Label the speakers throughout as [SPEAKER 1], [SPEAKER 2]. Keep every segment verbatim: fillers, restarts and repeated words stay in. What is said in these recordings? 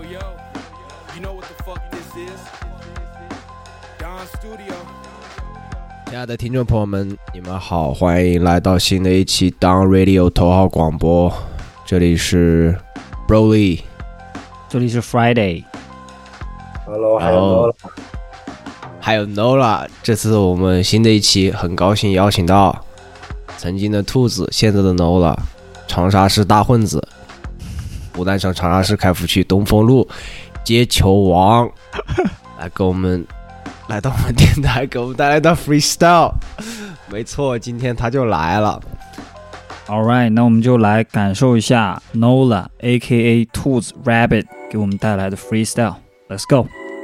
[SPEAKER 1] yo, you know what the fuck this is? Don Studio。
[SPEAKER 2] 亲爱的听众朋友们，你们好，欢迎来到新的一期 Don Radio 头号广播。这里是 Broly，
[SPEAKER 3] 这里是 Friday。Hello，
[SPEAKER 2] 还有 Nola， 还有 Nola。这次我们新的一期，很高兴邀请到曾经的兔子，现在的 Nola， 长沙市大混子，湖南省长沙市开福区东风路接球王，来跟我们来到我们电台，给我们带来的 freestyle。没错，今天他就来了。
[SPEAKER 3] All right， 那我们就来感受一下 Nola A K A 兔子 Rabbit 给我们带来的 freestyle。Let's go。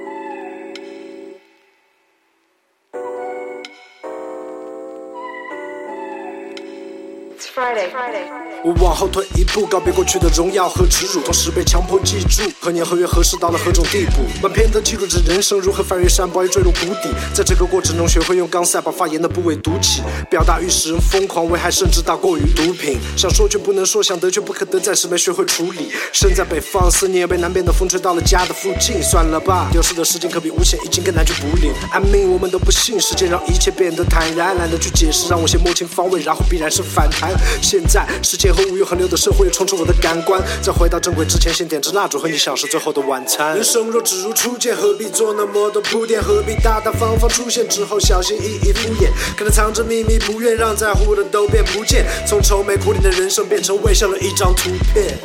[SPEAKER 4] 我往后退一步，告别过去的荣耀和耻辱，同时被强迫记住何年何月何时到了何种地步。满篇的记录着人生如何翻越山包，又坠入谷底。在这个过程中，学会用钢塞把发言的部位堵起，表达欲使人疯狂，危害甚至大过于毒品。想说却不能说，想得却不可得，暂时没学会处理。身在北方，思念被南边的风吹到了家的附近。算了吧，丢失的时间可比无限已经更难去补领。I mean， 我们都不信时间让一切变得坦然，懒得去解释，让我先摸清方位，然后必然是反弹。现在时间和无欲横流的社会冲出我的感官，在回到正轨之前，先点支蜡烛和你享受最后的晚餐。人生若只如初见，何必做那么多铺垫？何必大大方方出现之后小心翼翼敷衍？可能藏着秘密，不愿让在乎的都变不见，从愁眉苦脸的人生变成微笑的一张图片。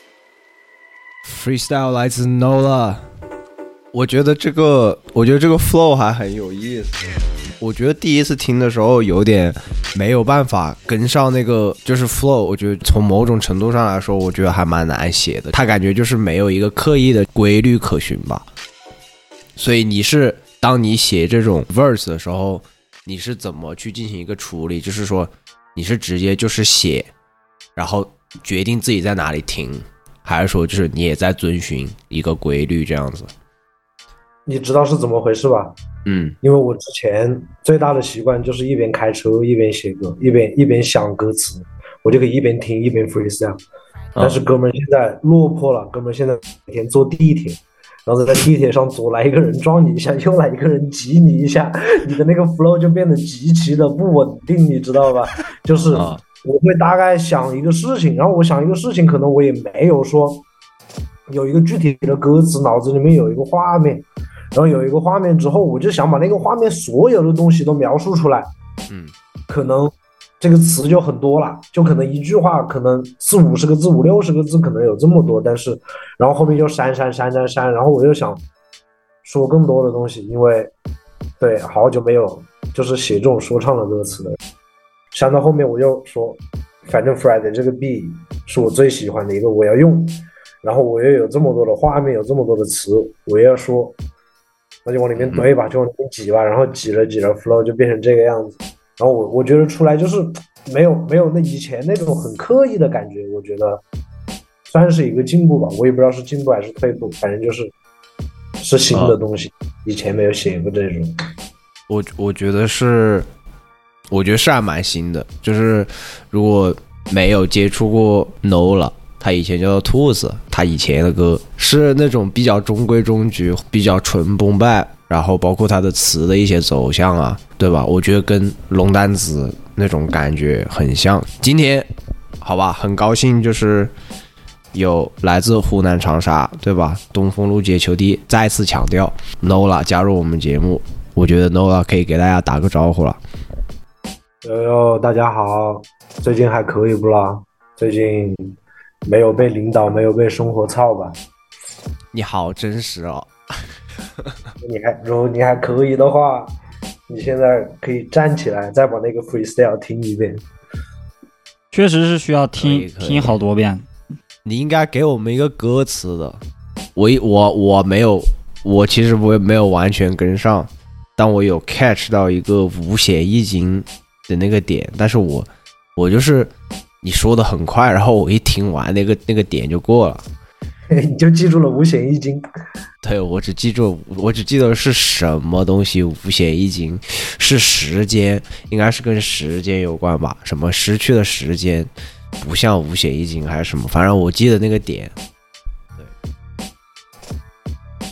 [SPEAKER 2] Freestyle 来自 Nola， 我觉得这个，我觉得这个 flow 还很有意思。我觉得第一次听的时候有点没有办法跟上那个就是 flow， 我觉得从某种程度上来说，我觉得还蛮难写的。他感觉就是没有一个刻意的规律可循吧。所以你是当你写这种 verse 的时候，你是怎么去进行一个处理？就是说你是直接就是写，然后决定自己在哪里停，还是说就是你也在遵循一个规律这样子？
[SPEAKER 5] 你知道是怎么回事吧？
[SPEAKER 2] 嗯，
[SPEAKER 5] 因为我之前最大的习惯就是一边开车一边写歌，一边一边想歌词，我就可以一边听一边 freestyle。但是哥们现在落魄了，哥们现在每天坐地铁，然后在地铁上左来一个人撞你一下，右来一个人挤你一下，你的那个 flow 就变得极其的不稳定，你知道吧？就是我会大概想一个事情，然后我想一个事情，可能我也没有说有一个具体的歌词，脑子里面有一个画面。然后有一个画面之后，我就想把那个画面所有的东西都描述出来。
[SPEAKER 2] 嗯，
[SPEAKER 5] 可能这个词就很多了，就可能一句话可能四五十个字、五六十个字，可能有这么多。但是，然后后面就删删删删删，然后我又想说更多的东西，因为对好久没有就是写这种说唱的歌词了。删到后面我就说，反正 Friday 这个 B 是我最喜欢的一个，我要用。然后我又有这么多的画面，有这么多的词，我也要说。那就往里面堆吧，就往里面挤吧，然后挤了挤了 flow 就变成这个样子。然后我我觉得出来就是没有没有那以前那种很刻意的感觉，我觉得算是一个进步吧。我也不知道是进步还是退步，反正就是是新的东西，哦、以前没有写过这种。
[SPEAKER 2] 我我觉得是，我觉得是还蛮新的。就是如果没有接触过 Nola，他以前叫做兔子，他以前的歌是那种比较中规中矩，比较纯崩败，然后包括他的词的一些走向啊，对吧？我觉得跟龙丹子那种感觉很像。今天好吧，很高兴就是有来自湖南长沙，对吧？东风路接球地再次强调 Nola 加入我们节目，我觉得 Nola 可以给大家打个招呼了。
[SPEAKER 5] 哟哟，大家好，最近还可以不啦？最近没有被领导，没有被生活操吧？
[SPEAKER 2] 你好真实哦！
[SPEAKER 5] 你还如果你还可以的话，你现在可以站起来，再把那个 freestyle 听一遍。
[SPEAKER 3] 确实是需要听听好多遍。
[SPEAKER 2] 你应该给我们一个歌词的。我我我没有，我其实我也没有完全跟上，但我有 catch 到一个五险一金的那个点，但是我我就是。你说的很快，然后我一听完那个那个点就过了，
[SPEAKER 5] 你就记住了五险一金。
[SPEAKER 2] 对，我只记住，我只记得是什么东西五险一金，是时间，应该是跟时间有关吧？什么失去的时间不像五险一金还是什么？反正我记得那个点。对，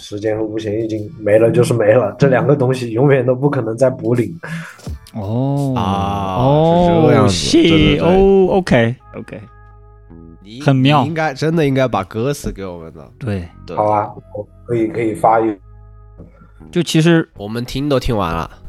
[SPEAKER 5] 时间和无限已经没了就是没了，这两个东西永远都不可能再补领。
[SPEAKER 3] 哦
[SPEAKER 2] 啊，
[SPEAKER 3] 哦，
[SPEAKER 2] 是这个样子，对对对
[SPEAKER 3] 哦 ，OK OK，
[SPEAKER 2] 你
[SPEAKER 3] 很妙
[SPEAKER 2] 你应该真的应该把歌词给我们的，
[SPEAKER 3] 对，
[SPEAKER 2] 对，
[SPEAKER 5] 好啊，我可以可以发一。
[SPEAKER 3] 就其实
[SPEAKER 2] 我们听都听完了。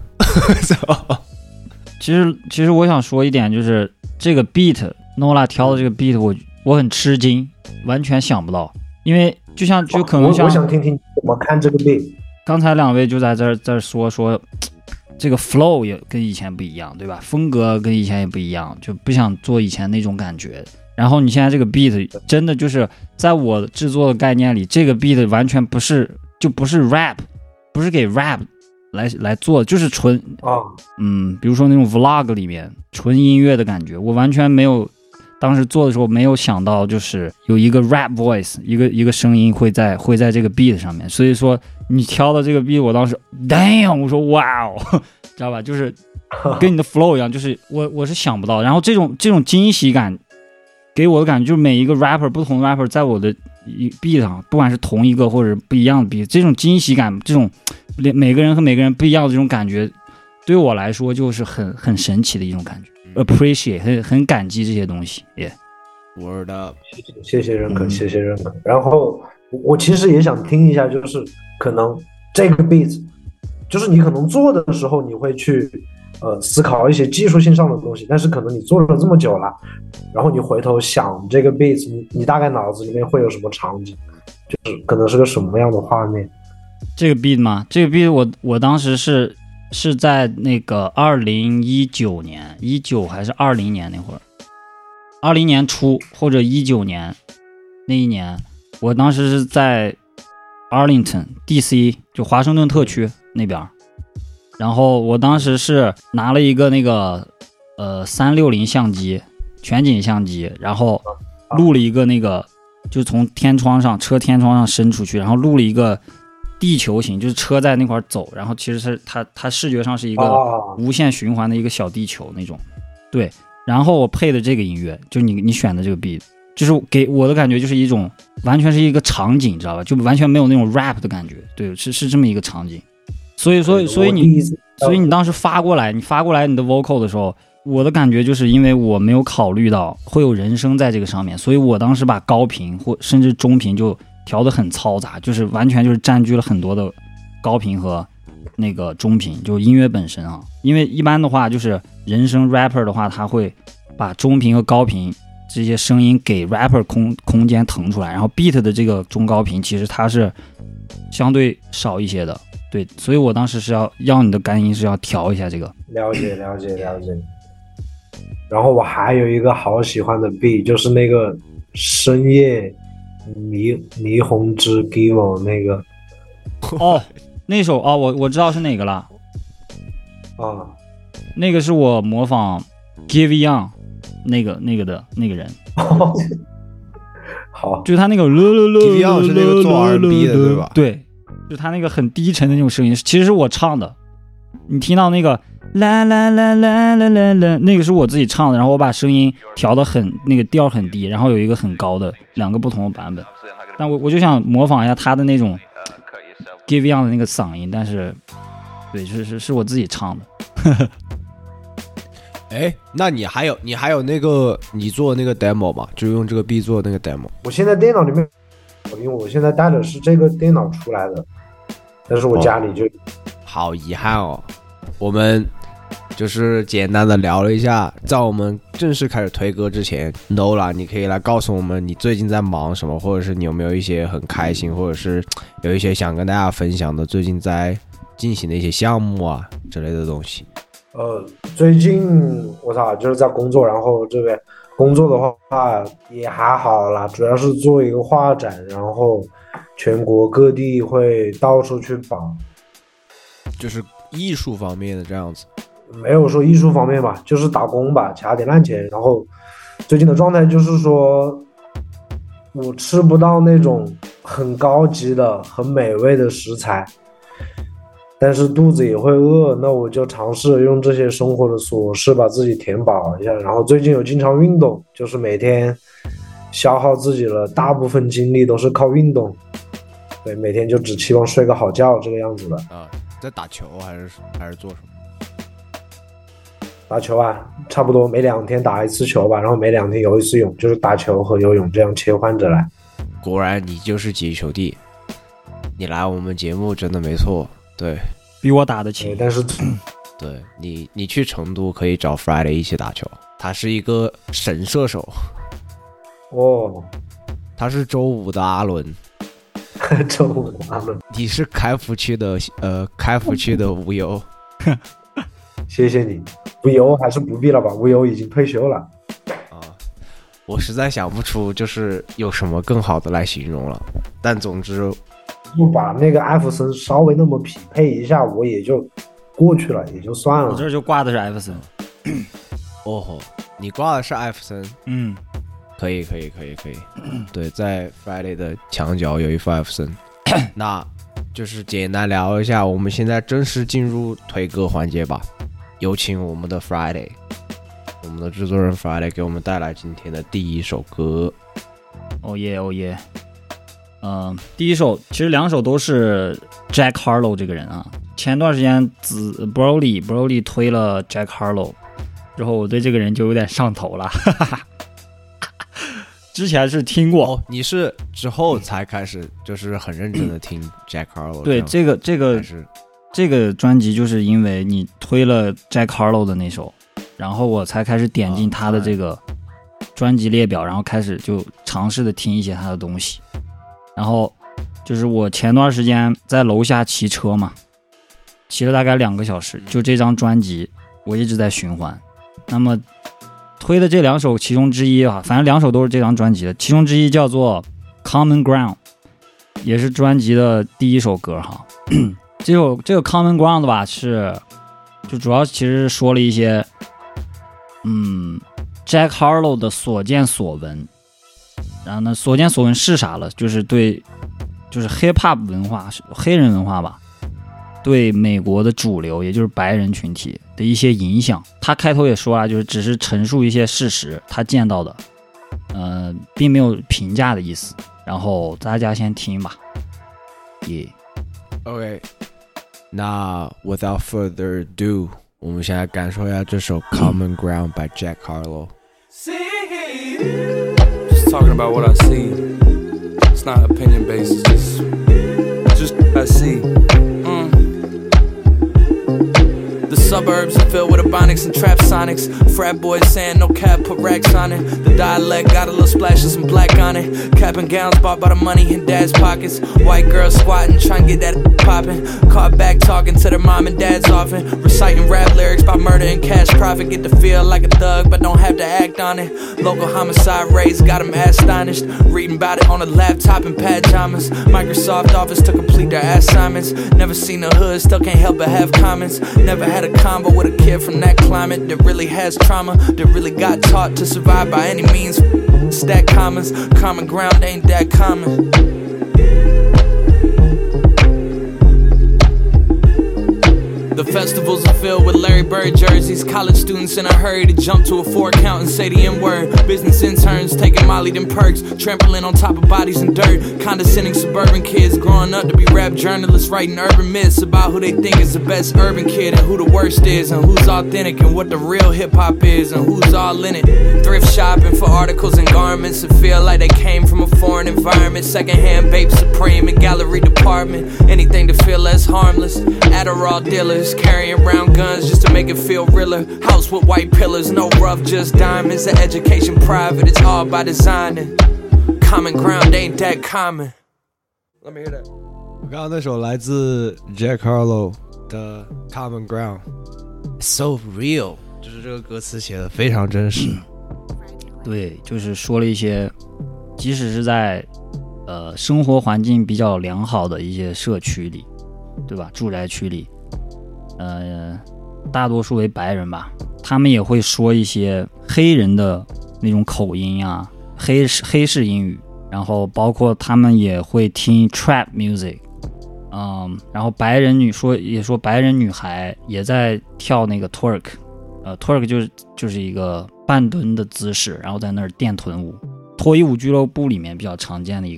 [SPEAKER 3] 其实其实我想说一点，就是这个 beat Nola 挑的这个 beat 我我很吃惊，完全想不到，因为就像就可能像
[SPEAKER 5] 我我想听听怎么看这个 beat。
[SPEAKER 3] 刚才两位就在这儿这儿说说这个 flow 也跟以前不一样，对吧？风格跟以前也不一样，就不想做以前那种感觉。然后你现在这个 beat 真的就是在我制作的概念里，这个 beat 完全不是就不是 rap， 不是给 rap 来来做，就是纯
[SPEAKER 5] 啊，
[SPEAKER 3] 嗯，比如说那种 vlog 里面纯音乐的感觉，我完全没有，当时做的时候没有想到，就是有一个 rap voice， 一个一个声音会在会在这个 beat 上面，所以说你挑的这个 beat， 我当时 damn， 我说哇哦，知道吧？就是跟你的 flow 一样，就是我我是想不到，然后这种这种惊喜感给我的感觉，就是每一个 rapper 不同的 rapper 在我的 beat 上，不管是同一个或者不一样的 beat， 这种惊喜感，这种每个人和每个人不一样的这种感觉，对我来说就是很很神奇的一种感觉。appreciate 很很感激这些东西，耶、
[SPEAKER 2] yeah. Word up，
[SPEAKER 5] 谢谢认可，
[SPEAKER 3] 嗯、
[SPEAKER 5] 谢谢认可。然后我其实也想听一下，就是可能这个 beat， 就是你可能做的时候，你会去呃思考一些技术性上的东西，但是可能你做了这么久了，然后你回头想这个 beat， 你你大概脑子里面会有什么场景？就是可能是个什么样的画面？
[SPEAKER 3] 这个 beat 吗？这个 beat 我我当时是。是在那个二零一九年，一九还是二零年那会儿，二零年初或者一九年那一年，我当时是在 Arlington D C， 就华盛顿特区那边，然后我当时是拿了一个那个呃三六零相机，全景相机，然后录了一个那个，就从天窗上车天窗上伸出去，然后录了一个。地球形就是车在那块走，然后其实是它它视觉上是一个无限循环的一个小地球那种，对。然后我配的这个音乐，就你你选的这个 beat， 就是给我的感觉就是一种完全是一个场景，知道吧？就完全没有那种 rap 的感觉，对，是是这么一个场景。所以所以所以你所以你当时发过来，你发过来你的 vocal 的时候，我的感觉就是因为我没有考虑到会有人声在这个上面，所以我当时把高频或甚至中频就。调得很嘈杂，就是完全就是占据了很多的高频和那个中频，就是音乐本身啊。因为一般的话，就是人声 rapper 的话，他会把中频和高频这些声音给 rapper 空空间腾出来，然后 beat 的这个中高频其实它是相对少一些的，对，所以我当时是要要你的干音是要调一下这个。
[SPEAKER 5] 了解了解了解。然后我还有一个好喜欢的 beat， 就是那个深夜。霓霓虹之 Givo 那个
[SPEAKER 3] 哦，那首哦，我我知道是哪个了
[SPEAKER 5] 啊，
[SPEAKER 3] 那个是我模仿 Give Young 那个那个的那个人，
[SPEAKER 5] 好，
[SPEAKER 3] 就是他那个
[SPEAKER 2] Give Young 是那个做 R and B 的对吧？
[SPEAKER 3] 对，就他那个很低沉的那种声音，其实是我唱的，你听到那个啦啦啦啦啦啦啦，那个是我自己唱的，然后我把声音调得很那个调很低，然后有一个很高的两个不同的版本，但我我就想模仿一下他的那种 Give Young 的那个嗓音，但是对，是是是我自己唱的。
[SPEAKER 2] 哎，那你还有你还有那个你做的那个 demo 吗？就用这个 B 做的那个 demo。
[SPEAKER 5] 我现在电脑里面，因为我现在带的是这个电脑出来的，但是我家里就、哦、
[SPEAKER 2] 好遗憾哦。我们就是简单的聊了一下，在我们正式开始推歌之前 Nola 你可以来告诉我们你最近在忙什么，或者是你有没有一些很开心或者是有一些想跟大家分享的最近在进行的一些项目啊之类的东西。
[SPEAKER 5] 呃，最近我操就是在工作，然后这边工作的话也还好啦，主要是做一个画展，然后全国各地会到处去跑，
[SPEAKER 2] 就是艺术方面的这样子。
[SPEAKER 5] 没有说艺术方面吧，就是打工吧，卡点烂钱。然后最近的状态就是说我吃不到那种很高级的很美味的食材，但是肚子也会饿，那我就尝试用这些生活的琐事把自己填饱一下。然后最近有经常运动，就是每天消耗自己了大部分精力都是靠运动。 对，每天就只期望睡个好觉这个样子的。
[SPEAKER 2] 啊，在打球还是还是做什么？
[SPEAKER 5] 打球啊，差不多每两天打一次球吧，然后每两天游一次泳，就是打球和游泳这样切换着来。
[SPEAKER 2] 果然你就是几球弟，你来我们节目真的没错。对，
[SPEAKER 3] 比我打得勤。
[SPEAKER 5] 但是，
[SPEAKER 2] 对你，你去成都可以找 Friday 一起打球，他是一个神射手。
[SPEAKER 5] 哦，
[SPEAKER 2] 他是周五的阿伦。
[SPEAKER 5] 周五的阿伦，
[SPEAKER 2] 你是开福区的呃开福区的无忧。
[SPEAKER 5] 谢谢你。无忧还是不必了吧，无忧已经退休了。
[SPEAKER 2] 啊，我实在想不出就是有什么更好的来形容了。但总之，
[SPEAKER 5] 就把那个艾弗森稍微那么匹配一下，我也就过去了，也就算了。
[SPEAKER 3] 我这就挂的是艾弗森。
[SPEAKER 2] 哦吼，你挂的是艾弗森？
[SPEAKER 3] 嗯，
[SPEAKER 2] 可以，可以，可以，可以。对，在 Friday 的墙角有一副艾弗森。那就是简单聊一下，我们现在正式进入推歌环节吧。有请我们的 Friday， 我们的制作人 Friday 给我们带来今天的第一首歌。
[SPEAKER 3] 哦耶，哦耶。嗯，第一首其实两首都是 Jack Harlow 这个人啊。前段时间子 Broly Broly 推了 Jack Harlow 之后，我对这个人就有点上头了。之前是听过、
[SPEAKER 2] 哦、你是之后才开始就是很认真的听 Jack Harlow。
[SPEAKER 3] 对，这个这个这个专辑就是因为你推了 Jack Harlow 的那首，然后我才开始点进他的这个专辑列表，然后开始就尝试的听一些他的东西。然后就是我前段时间在楼下骑车嘛，骑了大概两个小时，就这张专辑我一直在循环。那么推的这两首其中之一啊，反正两首都是这张专辑的，其中之一叫做 Common Ground， 也是专辑的第一首歌哈。这首这个 Common Ground 吧，是就主要其实说了一些嗯 Jack Harlow 的所见所闻。然后呢，所见所闻是啥了？就是对，就是 hip hop 文化，黑人文化吧，对美国的主流，也就是白人群体的一些影响。他开头也说了，就是只是陈述一些事实，他见到的，呃，并没有评价的意思。然后大家先听吧。耶、
[SPEAKER 2] yeah. OK， 那 without further ado， 我们现在感受一下这首 Common Ground by Jack Harlow。Talking
[SPEAKER 1] about what I see. It's not opinion based, it's just, just what I see. Mm. The suburbs are filled with ebonics and trap sonics. Frat boys saying no cap, put racks on it. The dialect got a little splash of some black on it. Cap and gowns bought by the money in dad's pockets. White girls squatting, trying to get that poppin'. Caught back talking to their mom and dads often. Reciting rap lyrics about murder and cash profit. Get to feel like a thug, but don't have to act on it. Local homicide rates got them astonished. Reading about it on a laptop in pajamas. Microsoft Office to complete their assignments. Never seen the hood, still can't help but have comments. Never had a combo with a kid from that climate that really has trauma, that really got taught to survive by any means. Stack commas, common ground ain't that common. The festivals are filled with Larry Bird jerseys. College students in a hurry to jump to a four count and say the N-word. Business interns taking Molly them perks, trampling on top of bodies and dirt. Condescending suburban kids growing up to be rap journalists, writing urban myths about who they think is the best urban kid and who the worst is, and who's authentic and what the real hip-hop is, and who's all in it. Thrift shopping for articles and garments that feel like they came from a foreign environment. Secondhand Bape Supreme and gallery department. Anything to feel less harmless. Adderall dealers carrying around guns just to make it feel realer. House with white pillars, no rough, just diamonds. The education private, it's all by design. And common ground ain't that common. Let me hear that.
[SPEAKER 2] 我刚刚那首来自 Jack Harlow 的 Common Ground， So real， 就是这个歌词写的非常真实。
[SPEAKER 3] 对，就是说了一些，即使是在呃生活环境比较良好的一些社区里，对吧？住宅区里。呃，大多数为白人吧，他们也会说一些黑人的那种口音啊，黑黑式英语，然后包括他们也会听 trap music， 嗯，然后白人女说也说白人女孩也在跳那个 twerk， 呃 twerk 就是就是一个半蹲的姿势，然后在那儿电臀舞，脱衣舞俱乐部里面比较常见的一个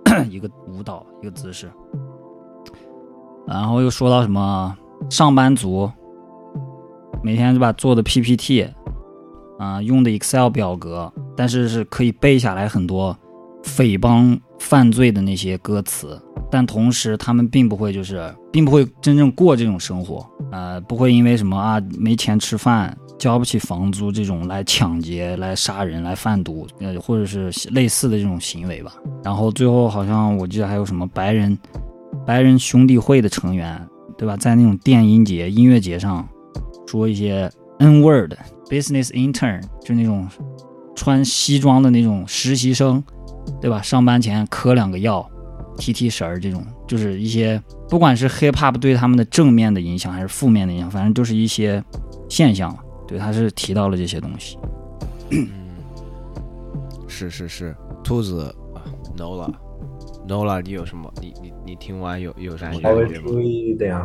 [SPEAKER 3] 一个舞蹈一个姿势。然后又说到什么上班族每天就把做的 P P T 啊、呃、用的 Excel 表格，但是是可以背下来很多诽谤犯罪的那些歌词，但同时他们并不会就是并不会真正过这种生活，呃，不会因为什么啊没钱吃饭交不起房租这种来抢劫来杀人来贩毒，呃，或者是类似的这种行为吧。然后最后好像我记得还有什么白人白人兄弟会的成员，对吧，在那种电音节音乐节上说一些 N word business intern， 就那种穿西装的那种实习生，对吧，上班前嗑两个药提提神儿，这种就是一些不管是 hip hop 对他们的正面的影响还是负面的影响，反正就是一些现象。对，他是提到了这些东西。
[SPEAKER 2] 嗯，是是是，兔子 Nola Nola， 你有什么？你你你听完有有啥感觉吗？
[SPEAKER 5] 稍微注意一点啊，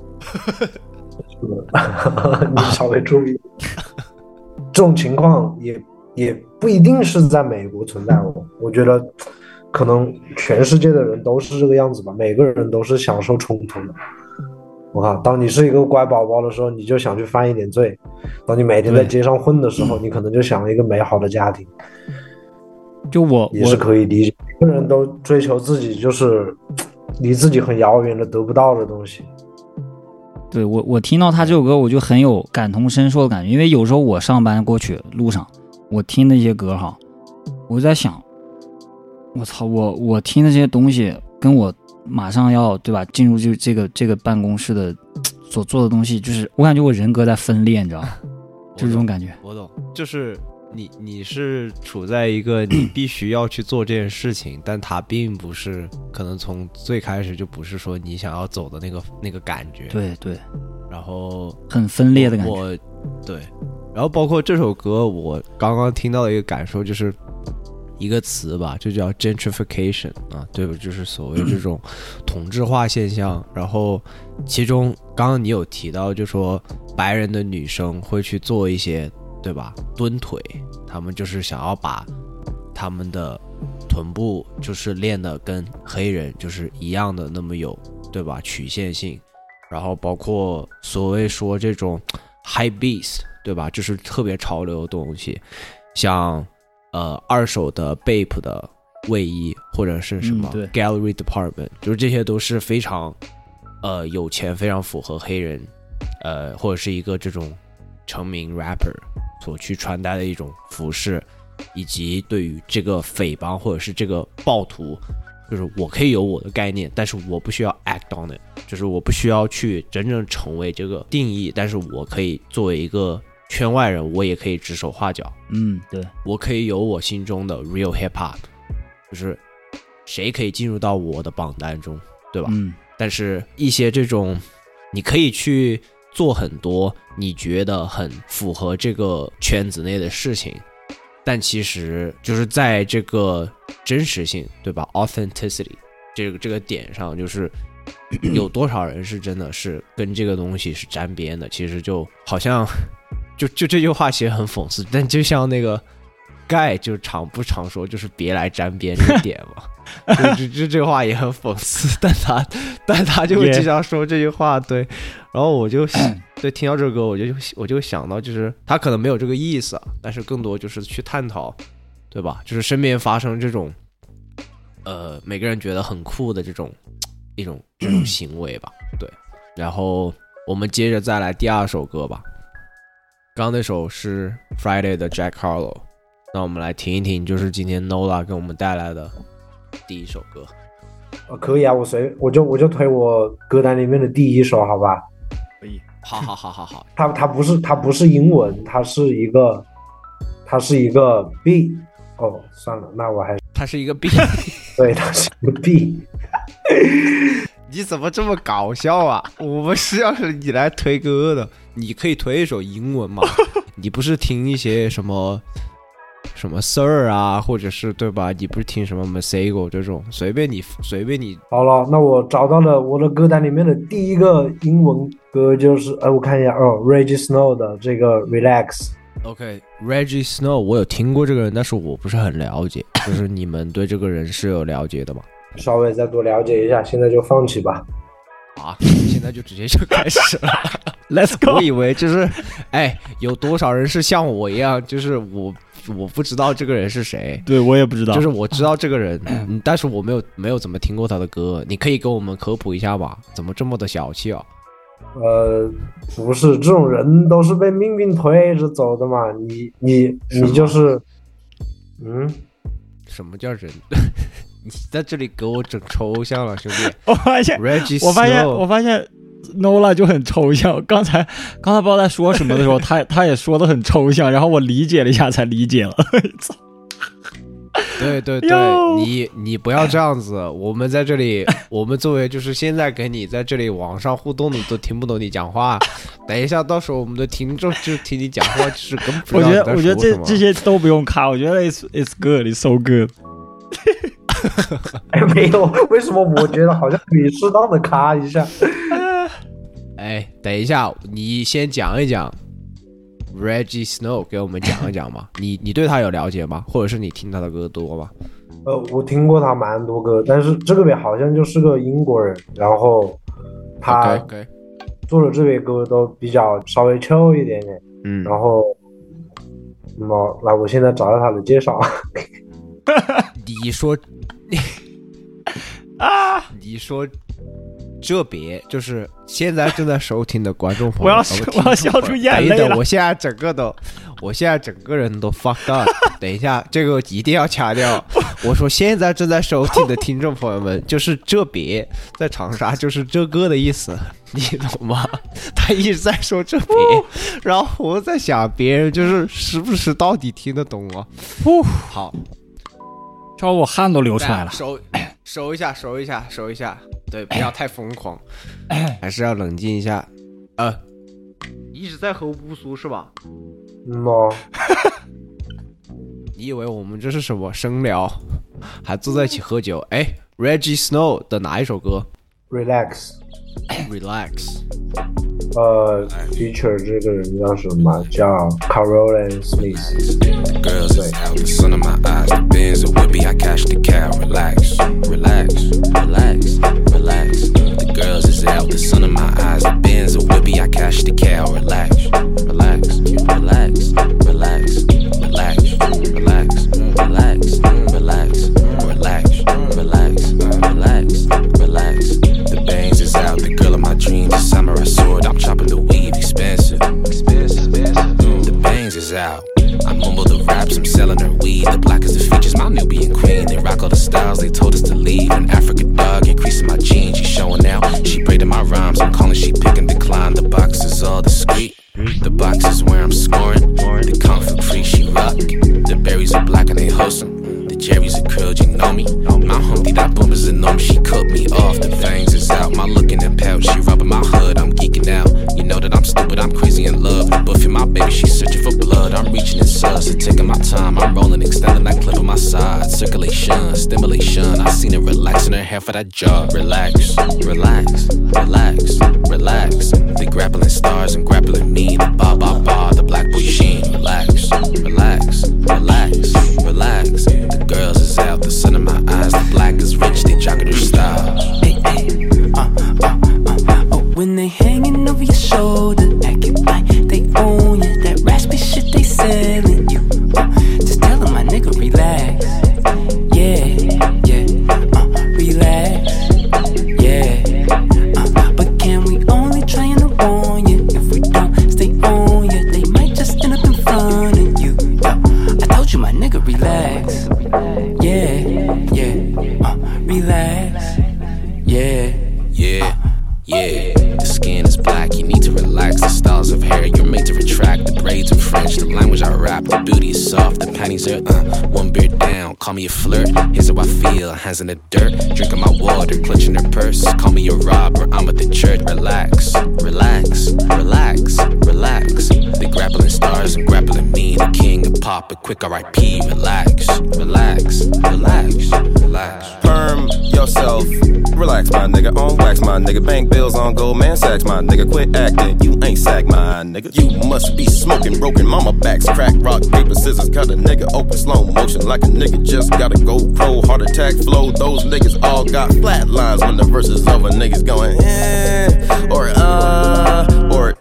[SPEAKER 5] 你稍微注意。这种情况也也不一定是在美国存在哦，我觉得可能全世界的人都是这个样子吧，每个人都是享受冲突的。我靠，当你是一个乖宝宝的时候，你就想去犯一点罪；当你每天在街上混的时候，你可能就想一个美好的家庭。
[SPEAKER 3] 就我
[SPEAKER 5] 也是可以理解，每个人都追求自己就是离自己很遥远的得不到的东西。
[SPEAKER 3] 对，我我听到他这首歌，我就很有感同身受的感觉，因为有时候我上班过去路上，我听那些歌哈，我在想，我操，我我听的这些东西跟我马上要对吧进入就这个这个办公室的所做的东西，就是我感觉我人格在分裂，你知道吗？就这种感觉。
[SPEAKER 2] 我懂，就是你你是处在一个你必须要去做这件事情，但它并不是可能从最开始就不是说你想要走的那个那个感觉。
[SPEAKER 3] 对对，
[SPEAKER 2] 然后
[SPEAKER 3] 很分裂的感觉。
[SPEAKER 2] 我对，然后包括这首歌，我刚刚听到的一个感受就是一个词吧，就叫 gentrification 啊，对吧？就是所谓这种同质化现象。然后其中刚刚你有提到，就说白人的女生会去做一些，对吧？蹲腿，他们就是想要把他们的臀部就是练得跟黑人就是一样的那么有，对吧？曲线性。然后包括所谓说这种 high beast， 对吧？就是特别潮流的东西，像呃二手的 Bape 的卫衣或者是什么 Gallery Department， 就是这些都是非常呃有钱，非常符合黑人呃或者是一个这种成名 rapper 所去穿戴的一种服饰，以及对于这个匪帮或者是这个暴徒，就是我可以有我的概念，但是我不需要 act on it， 就是我不需要去真正成为这个定义，但是我可以作为一个圈外人，我也可以指手画脚。
[SPEAKER 3] 嗯，对，
[SPEAKER 2] 我可以有我心中的 real hip hop， 就是谁可以进入到我的榜单中，对吧？
[SPEAKER 3] 嗯，
[SPEAKER 2] 但是一些这种你可以去做很多你觉得很符合这个圈子内的事情，但其实就是在这个真实性，对吧 authenticity 这个这个点上，就是有多少人是真的是跟这个东西是沾边的，其实就好像就就这句话其实很讽刺，但就像那个盖就常不常说就是别来沾边这个点嘛就这这话也很讽刺，但他但他就会经常说这句话，对，然后我就对听到这个歌，我就我就想到，就是他可能没有这个意思，但是更多就是去探讨，对吧？就是身边发生这种，呃，每个人觉得很酷的这种一种这种行为吧，对。然后我们接着再来第二首歌吧，刚刚那首是 Friday 的 Jack Harlow， 那我们来听一听，就是今天 Nola 给我们带来的第一首歌。
[SPEAKER 5] 呃，可以啊，我随我就我就推我歌单里面的第一首，好吧？
[SPEAKER 3] 可以，
[SPEAKER 2] 好好好好好。
[SPEAKER 5] 它它不是它不是英文，它是一个它是一个 B。哦，算了，那我还是
[SPEAKER 2] 它是一个 B。
[SPEAKER 5] 对，它是一个 B。
[SPEAKER 2] 你怎么这么搞笑啊？我们是要是你来推歌的，你可以推一首英文嘛？你不是听一些什么？什么 Sir 啊，或者是对吧？你不是听什么 Masego 这种，随便你随便你。
[SPEAKER 5] 好了，那我找到了我的歌单里面的第一个英文歌，就是呃，我看一下哦 ，Reggie Snow 的这个 Relax。OK，Reggie
[SPEAKER 2] Snow 我有听过这个人，但是我不是很了解，就是你们对这个人是有了解的吗？
[SPEAKER 5] 稍微再多了解一下，现在就放弃吧。
[SPEAKER 2] 啊，现在就直接就开始了。
[SPEAKER 3] Let's go！
[SPEAKER 2] 我以为就是，哎，有多少人是像我一样，就是我我不知道这个人是谁，
[SPEAKER 3] 对我也不知道，
[SPEAKER 2] 就是我知道这个人，嗯，但是我没有没有怎么听过他的歌，你可以给我们科普一下吗？怎么这么的小气啊？
[SPEAKER 5] 呃，不是，这种人都是被命运推着走的嘛，你你你就是，嗯，
[SPEAKER 2] 什么叫人？你在这里给我整抽象了，兄弟！
[SPEAKER 3] 我发现，我发现，我发现 Nola 就很抽象。刚才刚才不知道在说什么的时候，他他也说的很抽象，然后我理解了一下才理解了。
[SPEAKER 2] 对对对，你你不要这样子，我们在这里，我们作为就是现在跟你在这里网上互动的都听不懂你讲话，等一下到时候我们的听众就听你讲话，就是根本不知道你在说什么。
[SPEAKER 3] 我觉得我觉得这这些都不用卡，我觉得 it's it's good, it's so good 。
[SPEAKER 5] 哎，没有，为什么我觉得好像可以适当的卡一下？
[SPEAKER 2] 哎，等一下，你先讲一讲 Reggie Snow， 给我们讲一讲嘛。你你对他有了解吗？或者是你听他的歌多吗？
[SPEAKER 5] 呃，我听过他蛮多歌，但是这个别好像就是个英国人，然后他做的这些歌都比较稍微 chill 一点点。嗯，然后，那么来，我现在找到他的介绍。
[SPEAKER 2] 你说，啊，你说。这别就是现在正在收听的观众朋友，
[SPEAKER 3] 我要我要笑出眼泪了。
[SPEAKER 2] 我现在整个都，我现在整个人都 fucked up。等一下，这个一定要掐掉。我说现在正在收听的听众朋友们，就是这别在长沙就是这个的意思，你懂吗？他一直在说这别，然后我在想别人就是是不是到底听得懂啊？好，
[SPEAKER 3] 这我汗都流出来了。
[SPEAKER 2] 收收一下，收一下，收一下。对，不要太疯狂，还是要冷静一下。呃，一直在喝乌苏是吧？
[SPEAKER 5] 嗯哦。
[SPEAKER 2] 你以为我们这是什么生聊，还坐在一起喝酒？哎 ，Reggie Snow 的哪一首歌
[SPEAKER 5] ？Relax。Relax。呃 ，feature 这个人叫什么？叫 Caroline Smith。对。
[SPEAKER 1] Relax, the girls is out, the sun in my eyes, the Benz a whippy, I cash the cow. Relax, relax, relax, relax, relax, relax, relax, relax, relax, relax, relax, relax. The bangs is out, the girl of my dreams, a samurai sword, I'm chopping the weave, expensive, expensive. The bangs is out. I mumble the raps, I'm selling her weed. The black is the features, my Nubian queen. They rock all the styles, they told us to leave. An Africa dog, increasing my jeans. She showing out, she braiding my rhymes. I'm calling, she pick and decline. The box is all discreet. The box is where I'm scoring. The kung fu free, she rock. The berries are black and they wholesome. The Jerry's are curled, you know me. My humpty, that boom is enormous. She cut me off, the fangs is out. My look in the pouch, she rubbing my hood. I'm geeking out. You know that I'm stupid, I'm crazy in love. Buffing my baby, she's searching for blood. I'm reaching in sus and taking my time. I'm rolling, extending that clip on my side. Circulation, stimulation. I seen her relaxing her hair for that job. Relax, relax, relax, relax. They grappling stars and grappling me. The ba ba ba, the black boy sheen. Relax, relax, relax, relax. The girls is out, the sun in my eyes. The black is rich, they jocking their style. Hey, hey, uh, uh, uh, oh, when they hanging over your shoulder, acting like they own you. That raspy shit they selling you. Uh, just tell them my nigga relax. Yeah, yeah, uh, relax. Yeah, uh, but can we only try and warn you? If we don't stay on you, they might just end up in front of you. Yo, I told you my nigga relax. Yeah, yeah, uh, relax. Yeah, yeah, yeah. The skin is black, you need to relax. The styles of hair, you're made to retract. The braids are French, the language I rap. The booty is soft, the panties are uh, one beer down. Call me a flirt, here's how I feel. Hands in the dirt, drinking my water, clutching her purse. Call me a robber, I'm at the church. Relax, relax, relax, relax. They grappling stars and grappling me. The king of pop, a quick R I P. Relax, relax, relax, relax. Perm
[SPEAKER 6] from yourself. Relax, my nigga, on wax, my nigga. Bank bills on Goldman Sachs, my nigga. Quit acting, you ain't sack, my nigga. You must be smoking broken mama backs. Crack, rock, paper, scissors, cut a nigga open slow motion like a nigga just gotta go pro. Heart attack flow, those niggas all got flat lines when the verse is over. Niggas going, eh, or uh, or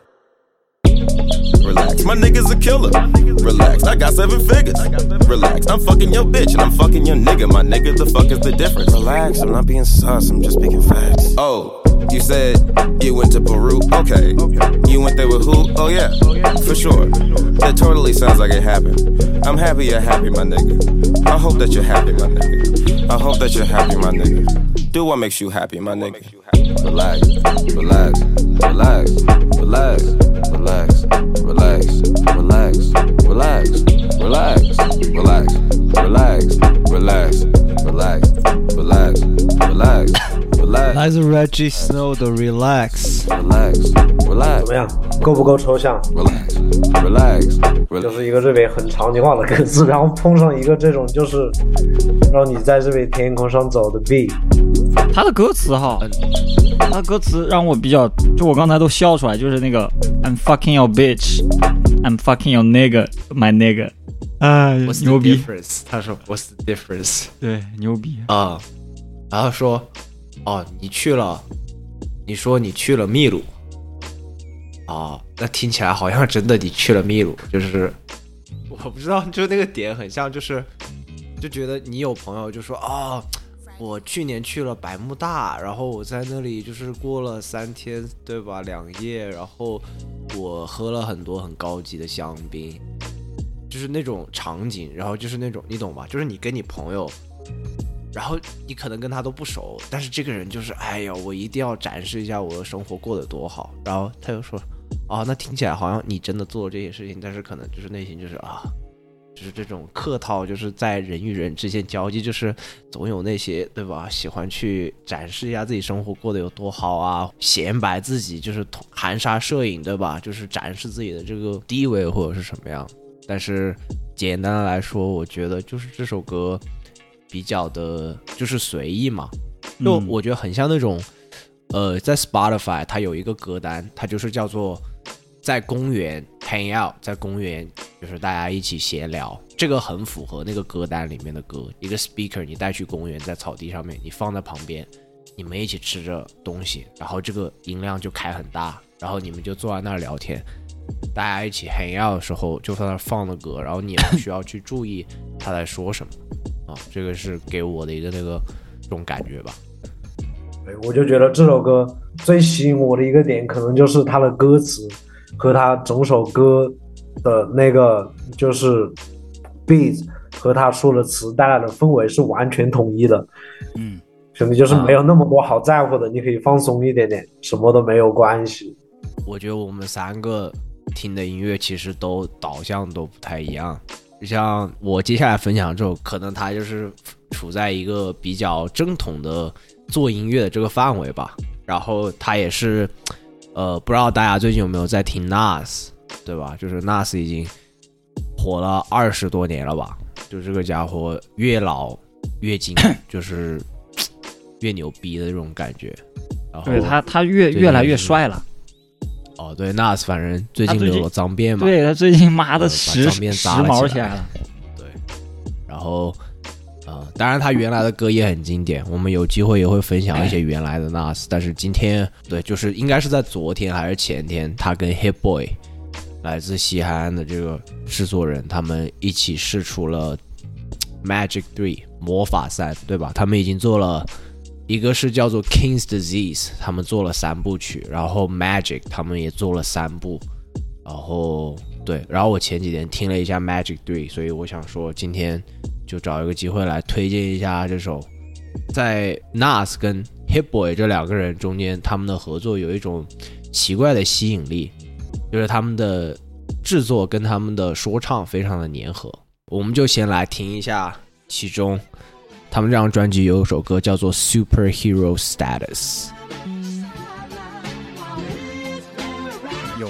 [SPEAKER 6] relax, my nigga's a killer. Relax, I got seven figures. Relax, I'm fucking your bitch and I'm fucking your nigga. My nigga, the fuck is the difference? Relax, I'm not being sus, I'm just speaking facts. Oh, you said you went to Peru? Okay. You went there with who? Oh yeah, for sure. That totally sounds like it happened. I'm happy you're happy, my nigga. I hope that you're happy, my nigga. I hope that you're happy, my nigga. Do what makes you happy, my nigga. Relax, relax, relax, relax, relax, relax, relax, relax, relax, relax, relax, relax, relax, relax, relax, relax.
[SPEAKER 2] 来自 Reggie Snow 的 Relax
[SPEAKER 6] Relax,
[SPEAKER 5] 怎
[SPEAKER 6] relax,
[SPEAKER 5] 么样？够不够抽象？
[SPEAKER 6] relax, relax,
[SPEAKER 5] 就
[SPEAKER 6] relax.
[SPEAKER 5] 是一个这边很场景化的歌词，然后碰上一个这种就是让你在这边天空上走的 beat。
[SPEAKER 3] 他的歌词哈，他的歌词让我比较，就我刚才都笑出来，就是那个 I'm fucking your bitch, I'm fucking your nigga, my nigga， 哎，
[SPEAKER 2] What's
[SPEAKER 3] 牛
[SPEAKER 2] the
[SPEAKER 3] 逼，
[SPEAKER 2] difference？ 他说 What's the difference？
[SPEAKER 3] 对，牛逼
[SPEAKER 2] 啊、uh, 然后说哦，你去了，你说你去了秘鲁啊，那听起来好像真的你去了秘鲁，就是我不知道，就那个点很像，就是就觉得你有朋友就说啊、哦，我去年去了百慕大，然后我在那里就是过了三天，对吧？两夜，然后我喝了很多很高级的香槟，就是那种场景，然后就是那种你懂吧？就是你跟你朋友。然后你可能跟他都不熟，但是这个人就是哎呀，我一定要展示一下我的生活过得多好。然后他又说，哦，那听起来好像你真的做了这些事情，但是可能就是内心就是啊，就是这种客套，就是在人与人之间交际，就是总有那些对吧，喜欢去展示一下自己生活过得有多好啊，显摆自己，就是含沙射影，对吧？就是展示自己的这个地位或者是什么样。但是简单的来说，我觉得就是这首歌。比较的就是随意嘛，就我觉得很像那种、嗯、呃在 Spotify 它有一个歌单，它就是叫做在公园 hang out， 在公园就是大家一起闲聊，这个很符合那个歌单里面的歌，一个 speaker 你带去公园，在草地上面你放在旁边，你们一起吃着东西，然后这个音量就开很大，然后你们就坐在那儿聊天，大家一起 hang out 的时候就在那儿放的歌，然后你也不需要去注意他在说什么啊，这个是给我的一个那个这种感觉吧。
[SPEAKER 5] 对，我就觉得这首歌最吸引我的一个点，可能就是它的歌词和它整首歌的那个就是 beat 和他说的词带来的氛围是完全统一的。嗯，兄弟就是没有那么多好在乎的，你可以放松一点点，什么都没有关系。
[SPEAKER 2] 我觉得我们三个听的音乐其实都导向都不太一样。像我接下来分享这首，可能它就是处在一个比较正统的做音乐的这个范围吧。然后它也是，呃，不知道大家最近有没有在听 Nas， 对吧？就是 Nas 已经火了二十多年了吧？就这个家伙越老越精，就是越牛逼的这种感觉。然后
[SPEAKER 3] 对他，他越越来越帅了。
[SPEAKER 2] 哦，对 ，Nas 反正最近留了脏辫嘛，
[SPEAKER 3] 对他最近妈的时、
[SPEAKER 2] 呃、时
[SPEAKER 3] 髦起来了。
[SPEAKER 2] 对，然后呃，当然他原来的歌也很经典，我们有机会也会分享一些原来的 Nas。但是今天对，就是应该是在昨天还是前天，他跟 Hit Boy 来自西海岸的这个制作人，他们一起试出了 Magic Three 魔法三，对吧？他们已经做了。一个是叫做 King's Disease， 他们做了三部曲，然后 Magic 他们也做了三部，然后对，然后我前几天听了一下 Magic Three， 所以我想说今天就找一个机会来推荐一下这首，在 Nas 跟 Hit Boy 这两个人中间，他们的合作有一种奇怪的吸引力，就是他们的制作跟他们的说唱非常的粘合。我们就先来听一下其中。他们这张专辑有一首歌叫做 Superhero Status。
[SPEAKER 3] 有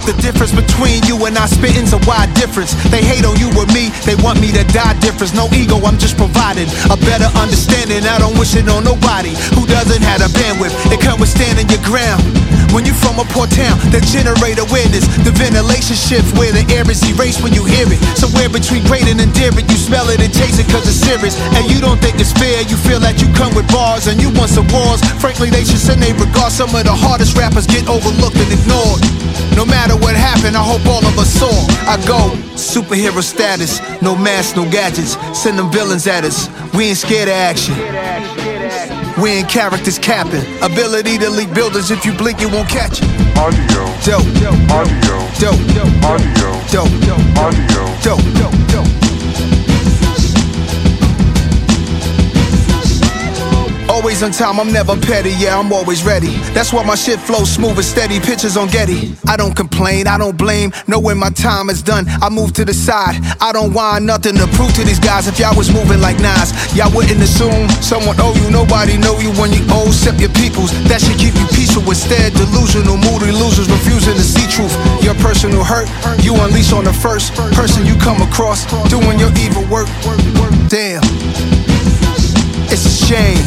[SPEAKER 7] The difference between you and I spitting's a wide difference. They hate on you or me, they want me to die difference. No ego, I'm just providing a better understanding. I don't wish it on nobody who doesn't have the bandwidth. It comes with standing your ground. When you from a poor town that generate awareness, the ventilation shifts where the air is erased when you hear it. Somewhere between great and endearing, you smell it and taste it cause it's serious. And you don't think it's fair, you feel that you come with bars and you want some wars. Frankly, they should send a regard. Some of the hardest rappers get overlooked and ignored. No matter what happened, I hope all of us saw. I go superhero status, no masks, no gadgets. Send them villains at us. We ain't scared of action. We ain't characters capping. Ability to leak buildings, if you blink you won't catch it.
[SPEAKER 8] Audio.
[SPEAKER 7] Dope.
[SPEAKER 8] Audio.
[SPEAKER 7] Dope.
[SPEAKER 8] Audio.
[SPEAKER 7] Dope.
[SPEAKER 8] Audio.
[SPEAKER 7] Dope. Dope. Always on time, I'm never petty, yeah, I'm always ready. That's why my shit flows smooth and steady, pictures on Getty. I don't complain, I don't blame, know when my time is done, I move to the side. I don't want nothing to prove to these guys. If y'all was moving like Nas, y'all wouldn't assume someone owe you. Nobody know you when you owe, except your peoples. That should keep you peaceful. Instead, delusional, moody losers refusing to see truth. Your personal hurt, you unleash on the first person you come across, doing your evil work. Damn, it's a shame.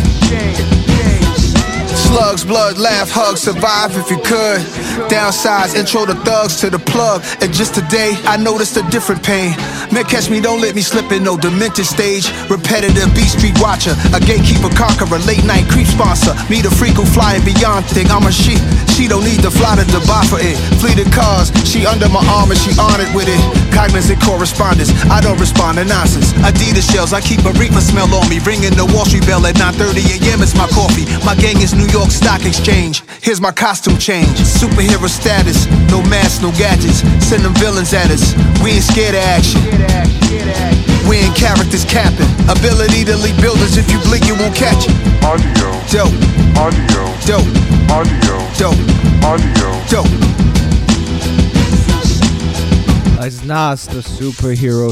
[SPEAKER 7] Slugs, blood, laugh, hug, survive if you could. Downsides, intro the thugs to the plug. And just today, I noticed a different pain. Man, catch me, don't let me slip in no demented stage. Repetitive beat street watcher, a gatekeeper conqueror, late night creep sponsor. Me the freak who flying beyond thing, I'm a sheep. She don't need to fly to Dubai for it. Fleeted cars, she under my arm and she honored with it. Cognizant correspondence, I don't respond to nonsense. Adidas shells, I keep a reefer smell on me. Ringing the Wall Street bell at nine thirty a.m. It's my coffee. My gang is New York Stock Exchange. Here's my costume change. Superhero status, no masks, no gadgets. Send them villains at us. We ain't scared of action. We ain't characters capping. Ability to leak buildings, if you blink you won't catch it.
[SPEAKER 8] Audio.
[SPEAKER 7] Dope.
[SPEAKER 8] Audio.
[SPEAKER 7] Dope.
[SPEAKER 8] Audio.
[SPEAKER 7] Dope.
[SPEAKER 8] Audio.
[SPEAKER 7] Dope.
[SPEAKER 2] As Nas 的 superhero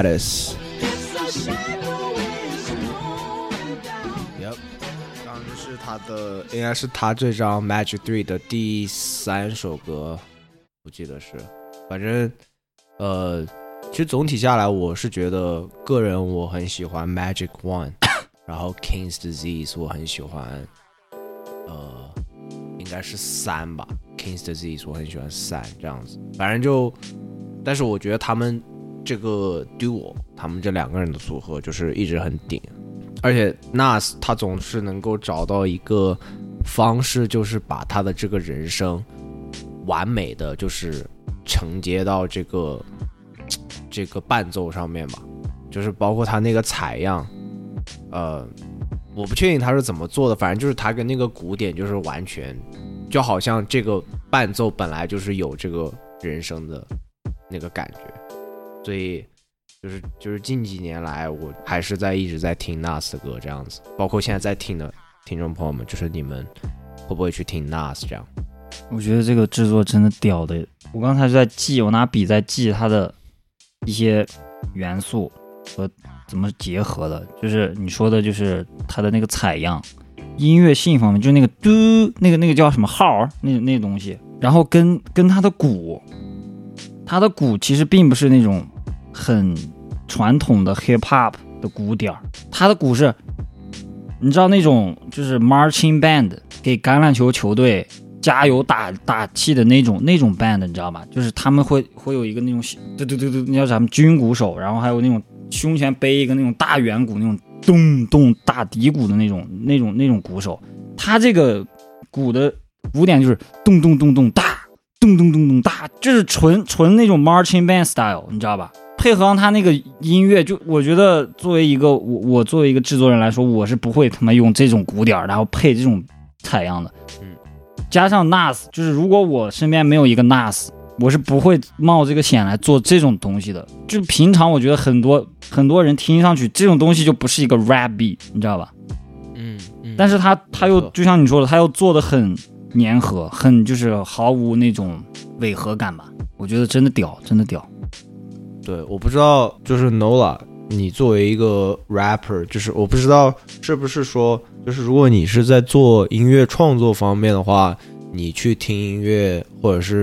[SPEAKER 2] status。Yep， 刚刚是他的，应该是他这张 Magic Three 的第三首歌，我记得是。反正，呃，其实总体下来，我是觉得个人我很喜欢 Magic One， 然后 King's Disease 我很喜欢，呃，应该是三吧 ，King's Disease 我很喜欢三这样子。反正就。但是我觉得他们这个 duo， 他们这两个人的组合就是一直很顶，而且 Nas 他总是能够找到一个方式，就是把他的这个人生完美的就是承接到这个这个伴奏上面吧，就是包括他那个采样，呃，我不确定他是怎么做的，反正就是他跟那个鼓点就是完全，就好像这个伴奏本来就是有这个人生的。那个感觉，所以就是就是近几年来，我还是在一直在听 Nas 的歌这样子，包括现在在听的听众朋友们，就是你们会不会去听 Nas 这样？
[SPEAKER 3] 我觉得这个制作真的屌的，我刚才就在记，我拿笔在记它的一些元素和怎么结合的，就是你说的，就是它的那个采样，音乐性方面，就是那个嘟，那个那个叫什么号，那那东西，然后跟跟它的鼓。他的鼓其实并不是那种很传统的 hip hop 的鼓点，他的鼓是，你知道那种就是 marching band 给橄榄球球队加油打打气的那种那种 band， 你知道吧？就是他们会会有一个那种对对对对，那叫咱们军鼓手，然后还有那种胸前背一个那种大圆鼓，那种咚咚大底鼓的那种那种那种鼓手，他这个鼓的鼓点就是咚咚咚咚大。咚咚咚咚大，就是纯纯那种 marching band style， 你知道吧？配合上他那个音乐，就我觉得作为一个我我作为一个制作人来说，我是不会他妈用这种鼓点然后配这种采样的。嗯，加上 Nas， 就是如果我身边没有一个 Nas， 我是不会冒这个险来做这种东西的。就平常我觉得很多很多人听上去这种东西就不是一个 rap beat， 你知道吧？嗯，嗯但是他他又就像你说的，他又做的很。粘合很就是毫无那种违和感吧，我觉得真的屌，真的屌。
[SPEAKER 2] 对，我不知道，就是 Nola， 你作为一个 rapper， 就是我不知道是不是说，就是如果你是在做音乐创作方面的话，你去听音乐或者是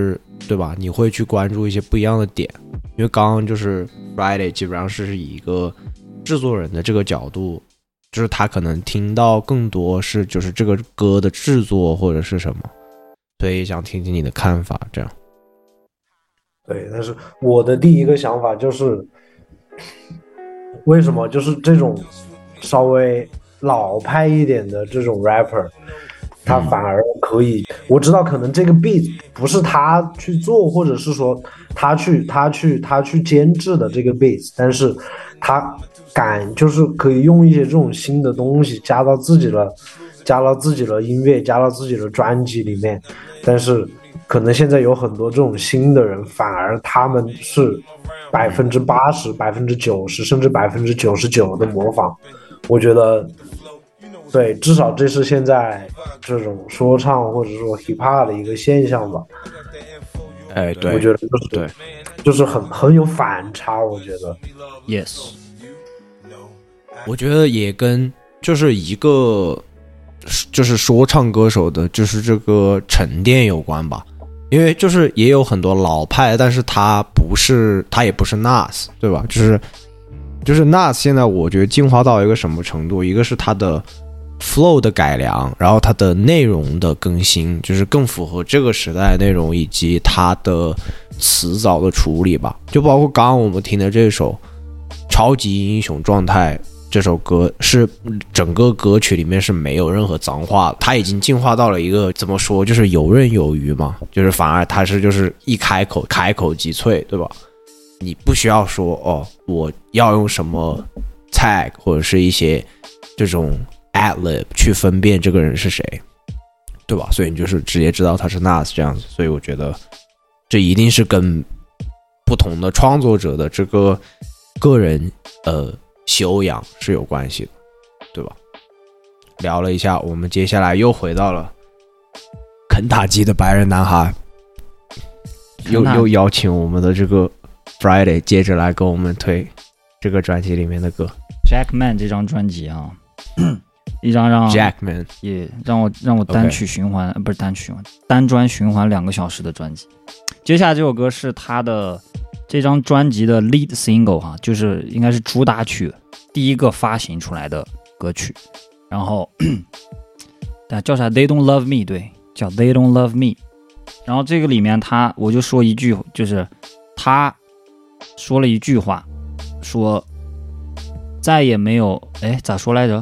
[SPEAKER 2] 对吧？你会去关注一些不一样的点，因为刚刚就是 Friday 基本上是以一个制作人的这个角度，就是他可能听到更多是就是这个歌的制作或者是什么，所以想听听你的看法，这样。
[SPEAKER 5] 对，但是我的第一个想法就是，为什么就是这种稍微老派一点的这种 rapper， 他反而可以，嗯、我知道可能这个 beat 不是他去做，或者是说他去他去他去监制的这个 beat， 但是他敢就是可以用一些这种新的东西加到自己的加到自己的音乐，加到自己的专辑里面，但是可能现在有很多这种新的人，反而他们是百分之八十、百分之九十，甚至百分之九十九的模仿。我觉得，对，至少这是现在这种说唱或者说 hip hop 的一个现象吧。
[SPEAKER 2] 哎，对，
[SPEAKER 5] 我觉得就是
[SPEAKER 2] 对，
[SPEAKER 5] 就是很很有反差。我觉得
[SPEAKER 3] ，yes，
[SPEAKER 2] 我觉得也跟就是一个就是说唱歌手的，就是这个沉淀有关吧。因为就是也有很多老派，但是他不是，他也不是 Nas， 对吧？就是就是 Nas 现在我觉得进化到一个什么程度？一个是他的 flow 的改良，然后他的内容的更新，就是更符合这个时代的内容，以及他的词藻的处理吧。就包括刚刚我们听的这首《超级英雄状态》。这首歌是整个歌曲里面是没有任何脏话的，它已经进化到了一个怎么说，就是游刃有余嘛，就是反而它是就是一开口开口即萃，对吧？你不需要说哦，我要用什么 tag 或者是一些这种 ad-lib 去分辨这个人是谁，对吧？所以你就是直接知道他是 Nas 这样子，所以我觉得这一定是跟不同的创作者的这个个人呃。修养是有关系的，对吧？聊了一下，我们接下来又回到了肯塔基的白人男孩，又又邀请我们的这个 Friday 接着来跟我们推这个专辑里面的歌。
[SPEAKER 3] Jackman 这张专辑啊，一张让
[SPEAKER 2] Jackman
[SPEAKER 3] 也让我让我单曲循环， okay. 不是单曲循环，单专循环两个小时的专辑。接下来这首歌是他的。这张专辑的 lead single 哈，就是应该是主打曲，第一个发行出来的歌曲。然后，但叫啥 ？They don't love me， 对，叫 They don't love me。然后这个里面他，我就说一句，就是他说了一句话，说再也没有，哎，咋说来着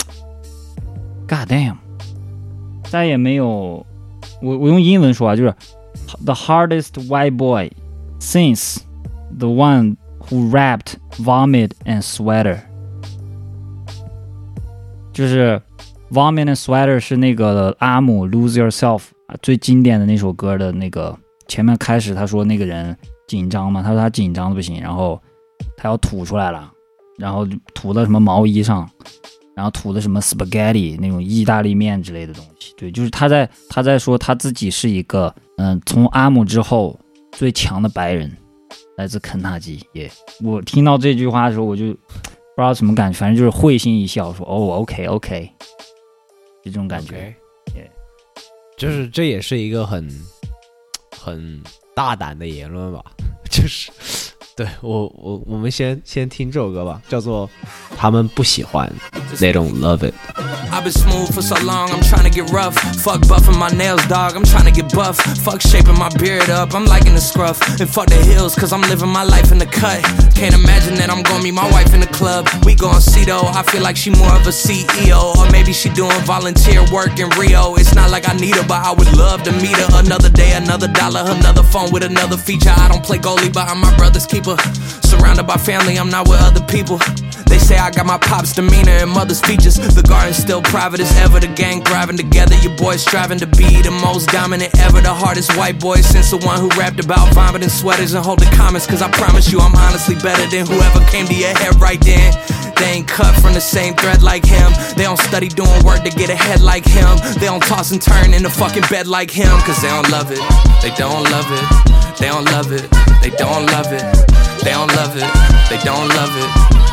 [SPEAKER 3] ？God damn， 再也没有，我我用英文说啊，就是 The hardest white boy。Since the one who rapped Vomit and Sweater， 就是 Vomit and Sweater 是那个阿姆 Lose Yourself 最经典的那首歌的那个前面开始他说那个人紧张嘛，他说他紧张的不行，然后他要吐出来了，然后吐到什么毛衣上，然后吐的什么 spaghetti 那种意大利面之类的东西。对，就是他在他在说他自己是一个嗯，从阿姆之后最强的白人，来自肯塔基。也、yeah. 我听到这句话的时候，我就不知道什么感觉，反正就是会心一笑，说哦 ，OK OK， 就这种感觉。
[SPEAKER 2] Okay. Yeah. 就是这也是一个很很大胆的言论吧，就是对我我我们先先听这首歌吧，叫做他们不喜欢 They don't love it。
[SPEAKER 1] I've been smooth for so long, I'm trying to get rough. Fuck buffing my nails, dog, I'm trying to get buff. Fuck shaping my beard up, I'm liking the scruff. And fuck the hills, cause I'm living my life in the cut. Can't imagine that I'm gonna meet my wife in the club. We gon' see though, I feel like she more of a C E O. Or maybe she doing volunteer work in Rio. It's not like I need her, but I would love to meet her. Another day, another dollar, another phone with another feature. I don't play goalie, but I'm my brother's keeper. Surrounded by family, I'm not with other people. They say I got my pop's demeanor and mother's features. The garden's still private as ever. The gang thriving together. Your boys striving to be the most dominant ever. The hardest white boy since the one who rapped about vomiting sweaters and holding comments. Cause I promise you I'm honestly better than whoever came to your head right then. They ain't cut from the same thread like him. They don't study doing work to get ahead like him. They don't toss and turn in the fucking bed like him. Cause they don't love it. They don't love it. They don't love it. They don't love it. They don't love it. They don't love it.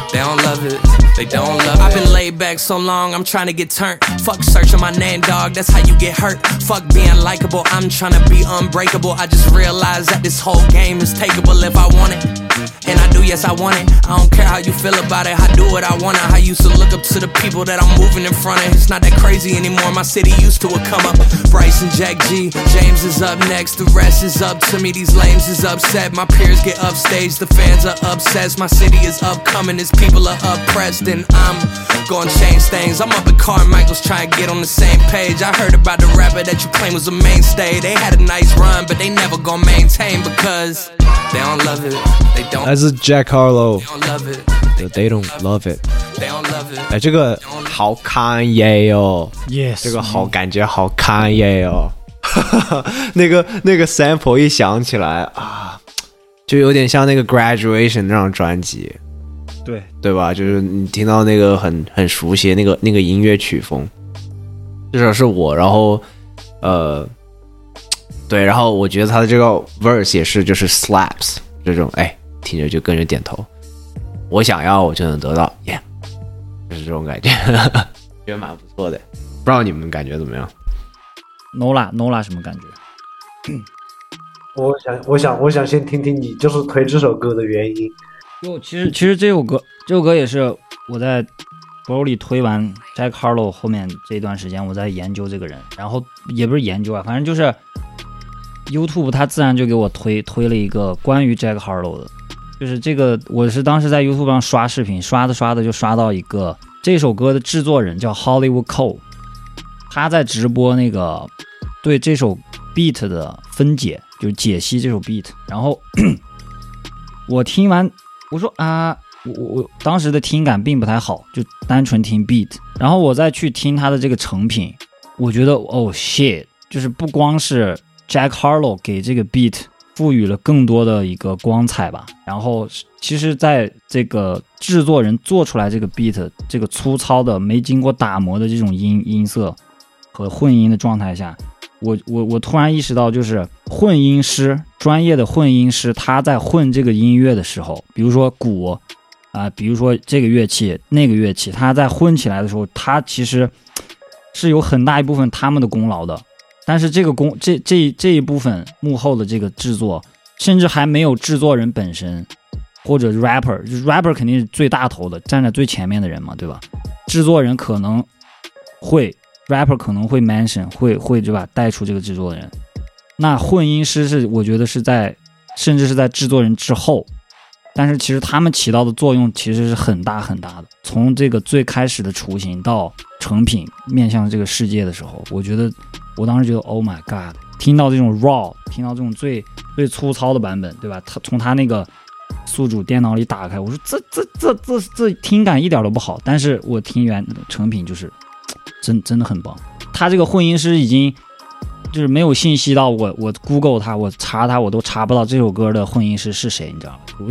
[SPEAKER 1] They don't love it. They don't love it. I've been laid back so long, I'm trying to get turned. Fuck searching my name, dog, that's how you get hurt. Fuck being likable, I'm trying to be unbreakable. I just realized that this whole game is takeable if I want it. And I do, yes, I want it. I don't care how you feel about it, I do what I want it. I used to look up to the people that I'm moving in front of. It's not that crazy anymore, my city used to it come up. Bryce and Jack G, James is up next. The rest is up to me, these lames is upset. My peers get upstage, the fans are obsessed. My city is upcoming, these people are oppressed. And I'm gonna change things. I'm up at Carmichael's trying to get on the same page. I heard about the rapper that you claim was a mainstay. They had a nice run, but they never gonna maintain because they don't love it. They don't.
[SPEAKER 2] 来自 Jack Harlow。
[SPEAKER 1] They don't love it.
[SPEAKER 2] They don't love it.
[SPEAKER 1] They don't love it.
[SPEAKER 2] 哎，这个好Kanye哦
[SPEAKER 3] Yes，
[SPEAKER 2] 这个好感觉好Kanye哦。那个那个 sample 一响起来啊，就有点像那个 Graduation 那张专辑。
[SPEAKER 3] 对
[SPEAKER 2] 对吧？就是你听到那个很很熟悉的那个那个音乐曲风，至少是我。然后，呃，对，然后我觉得他的这个 verse 也是就是 slaps 这种，哎，听着就跟着点头。我想要，我就能得到 ，yeah， 就是这种感觉，觉得蛮不错的。不知道你们感觉怎么样
[SPEAKER 3] ？Nola Nola 什么感觉？
[SPEAKER 5] 我想，我想，我想先听听你就是推这首歌的原因。
[SPEAKER 3] 就其实其实这首歌这首歌也是我在 Broly 推完 Jack Harlow 后面这一段时间我在研究这个人，然后也不是研究啊，反正就是 YouTube 它自然就给我推推了一个关于 Jack Harlow 的，就是这个我是当时在 YouTube 上刷视频，刷的刷的就刷到一个这首歌的制作人叫 Hollywood Cole， 他在直播那个对这首 beat 的分解，就是解析这首 beat， 然后我听完我说啊，我我当时的听感并不太好，就单纯听 beat， 然后我再去听他的这个成品，我觉得哦 shit， 就是不光是 Jack Harlow 给这个 beat 赋予了更多的一个光彩吧，然后其实在这个制作人做出来这个 beat 这个粗糙的没经过打磨的这种音音色和混音的状态下，我我我突然意识到，就是混音师，专业的混音师，他在混这个音乐的时候，比如说鼓啊、呃，比如说这个乐器那个乐器，他在混起来的时候，他其实是有很大一部分他们的功劳的。但是这个功这这这一部分幕后的这个制作，甚至还没有制作人本身或者 rapper， 就是 rapper 肯定是最大头的，站在最前面的人嘛，对吧？制作人可能会。rapper 可能会 mention 会会对吧带出这个制作人，那混音师是我觉得是在甚至是在制作人之后，但是其实他们起到的作用其实是很大很大的。从这个最开始的雏形到成品面向这个世界的时候，我觉得我当时觉得 Oh my God， 听到这种 raw， 听到这种最最粗糙的版本，对吧？他从他那个宿主电脑里打开，我说这这这这这听感一点都不好，但是我听原成品就是。真真的很棒，他这个混音师已经就是没有信息到我我 Google 他，我查他我都查不到这首歌的混音师是谁，你知道吗？我就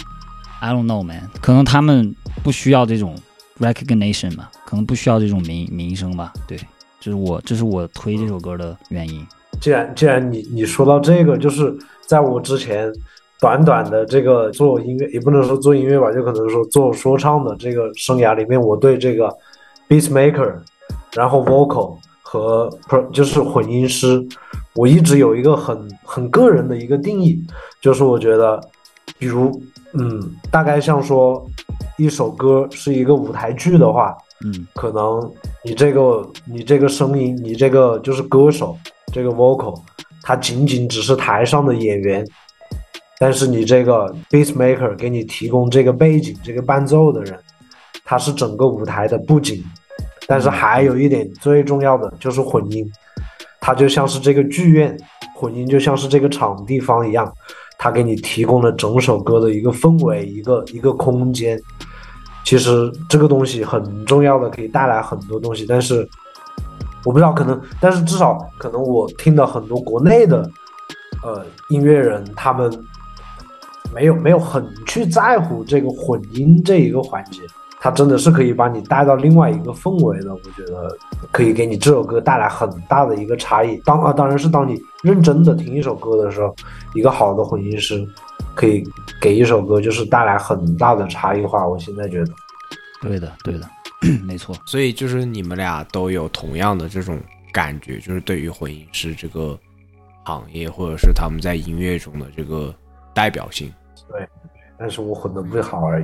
[SPEAKER 3] I don't know man， 可能他们不需要这种 recognition 吧，可能不需要这种名名声吧。对，这是我这是我推这首歌的原因。
[SPEAKER 5] 既然既然你你说到这个，就是在我之前短短的这个做音乐，也不能说做音乐吧，就可能说做说唱的这个生涯里面，我对这个 beatmaker。然后 vocal 和就是混音师，我一直有一个很很个人的一个定义，就是我觉得，比如嗯，大概像说一首歌是一个舞台剧的话，
[SPEAKER 3] 嗯，
[SPEAKER 5] 可能你这个你这个声音，你这个就是歌手这个 vocal， 它仅仅只是台上的演员，但是你这个 beatmaker 给你提供这个背景这个伴奏的人，他是整个舞台的布景。但是还有一点最重要的就是混音，它就像是这个剧院，混音就像是这个场地方一样，它给你提供了整首歌的一个氛围，一个一个空间。其实这个东西很重要的，可以带来很多东西。但是我不知道，可能，但是至少可能我听到很多国内的呃音乐人，他们没有没有很去在乎这个混音这一个环节。 它真的是可以把你带到另外一个氛围的，我觉得可以给你这首歌带来很大的一个差异。当啊，当然是当你认真的听一首歌的时候，一个好的混音师可以给一首歌就是带来很大的差异化。我现在觉得，
[SPEAKER 3] 对的，对的，没错。
[SPEAKER 2] 所以就是你们俩都有同样的这种感觉，就是对于混音师这个行业，或者是他们在音乐中的这个代表性。
[SPEAKER 5] 对，但是我混得不好而已。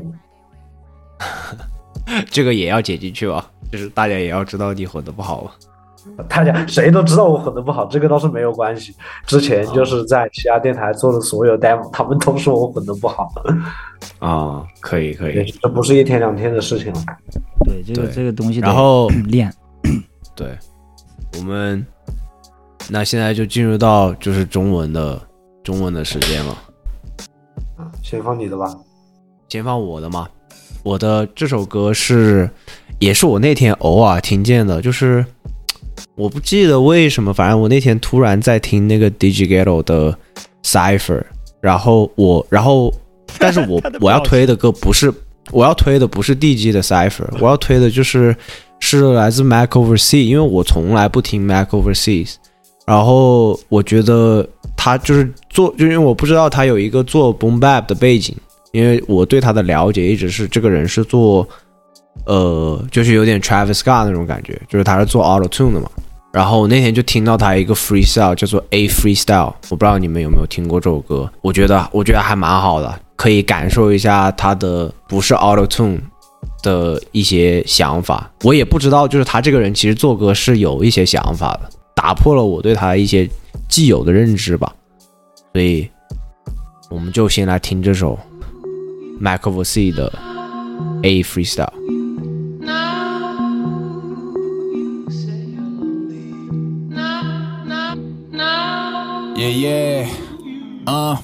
[SPEAKER 2] 这个也要剪进去吧，就是大家也要知道你混得不好。
[SPEAKER 5] 大家谁都知道我混得不好，这个倒是没有关系。之前就是在其他电台做的所有 demo， 他们都说我混得不好。
[SPEAKER 2] 啊，可以可以，
[SPEAKER 5] 这不是一天两天的事情了。
[SPEAKER 3] 对，这个这个东西得
[SPEAKER 2] 然后
[SPEAKER 3] 练。
[SPEAKER 2] 对，我们那现在就进入到就是中文的中文的时间了。
[SPEAKER 5] 先放你的吧。
[SPEAKER 2] 先放我的嘛。我的这首歌是，也是我那天偶尔听见的，就是我不记得为什么，反正我那天突然在听那个 Digighetto 的 Cypher， 然后我，然后，但是我我要推的歌不是，我要推的不是 D G 的 Cypher， 我要推的就是是来自 Mac Overseas， 因为我从来不听 Mac Overseas， 然后我觉得他就是做，就因为我不知道他有一个做 Boom Bap 的背景。因为我对他的了解一直是这个人是做呃就是有点 Travis Scott 那种感觉，就是他是做 Auto Tune 的嘛。然后那天就听到他一个 freestyle 叫做 A Freestyle， 我不知道你们有没有听过这首歌，我觉得我觉得还蛮好的，可以感受一下他的不是 Auto Tune 的一些想法。我也不知道就是他这个人其实做歌是有一些想法的，打破了我对他一些既有的认知吧。所以我们就先来听这首Mac Overseas 的 A Freestyle。
[SPEAKER 1] Yeah, yeah, uh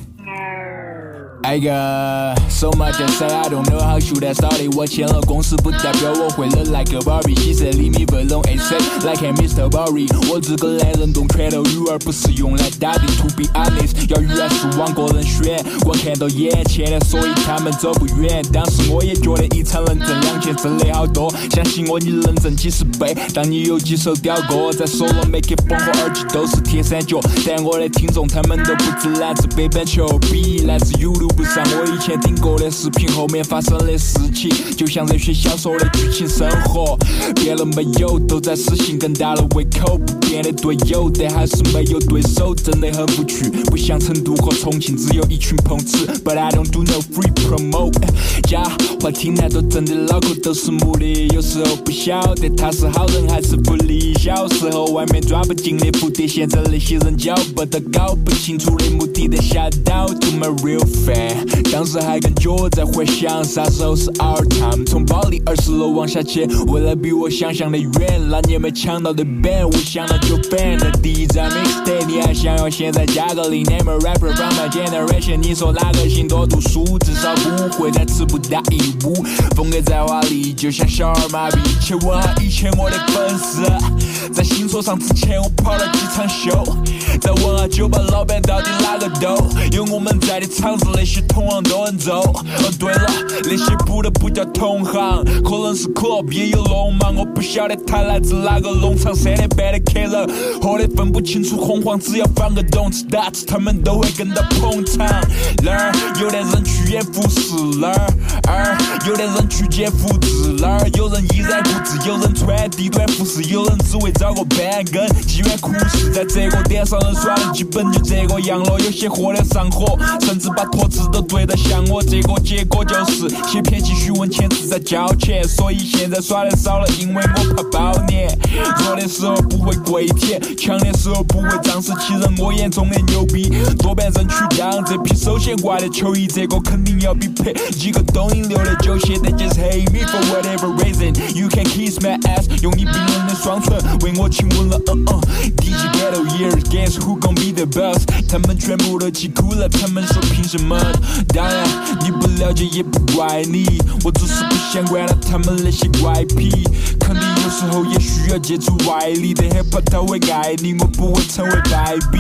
[SPEAKER 1] I got so much to say, I don't know how should I start it. 我签了公司不代表我会了 like a Barbie. She said leave me alone, I say like I'm Mister Barry. 我这个男人懂拳头语而不是用来打的。To be honest， 要语言是往个人选，光看到眼前的，所以他们走不远。当时我也觉得一场能挣两千真的好多，相信我你能挣几十倍。当你有几首屌歌在手了 make it 风和耳机都是铁三角，但我的听众他们都不止来自北半球，比来自 YouTube不上我以前听过的视频后面发生的事情，就像热血小说的剧情生活，变了没有，都在实行更大的胃口，不变的队友，但还是没有对手，真的很无趣，不像成都和重庆只有一群碰瓷 ，But I don't do no free promote。假话听太多，真的脑壳都是木的，有时候不晓得他是好人还是不理。小时候外面抓不进的蝴蝶，现在那些人脚不得搞不清楚的目的地下到 to my real fan。当时还跟脚在回想啥时候是 our time， 从保利二十楼往下切，未来比我想象的远，那年没抢到的 band 我想到就 ban 的第一张 mixtape， 你还想要现在加个零 name a rapper from my generation， 你说哪个姓多读书，至少不会再词不达意无，风格在华丽就像小儿麻痹，且问下以前我的粉丝，在新说唱之前我跑了几场秀，再问下酒吧老板到底哪个逗，有我们在的场子那些同行都很走。哦对了，那些不得不叫同行，可能是 club 也有龙嘛，我不晓得他来自哪个农场，三点半的 killer， 喝得分不清楚红黄，只要放个动词打字，他们都会跟到捧场。哪儿有的人去演服饰，哪儿有的人去捡复制，哪儿有人依然固执，有人穿低端服饰，有人只为找个板根，机缘苦事在这个点上人耍的基本就这个样了，有些喝得上火，甚至把托词都对得像我，这个结果就是写偏激虚文遣词在交钱，所以现在耍的少了，因为我怕包年。弱的时候不会跪舔，强的时候不会仗势欺人，我眼中的牛逼多半人去当这批手写挂的球衣，这个肯定要比配几个抖音流的就写的 just hate me for whatever reason you can kiss my ass， 用你冰冷的双唇为我亲吻了嗯嗯 Digighetto years guess who gon' be the boss， 他们全部都气哭了，他们说凭什么，当然你不了解也不怪你，我只是不想管了他们那些怪癖，肯定有时候也需要借助外力的 hip hop 他会爱你，我不会成为败笔。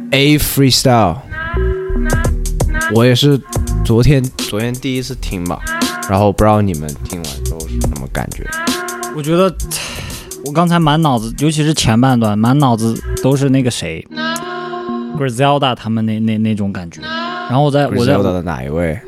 [SPEAKER 2] A Freestyle， 我也是昨天昨天第一次听吧，然后不知道你们听完之后是什么感觉？
[SPEAKER 3] 我觉得我刚才满脑子，尤其是前半段，满脑子都是那个谁 Griselda 他们那那那种感觉。然后我在我在
[SPEAKER 2] Griselda 的哪一位？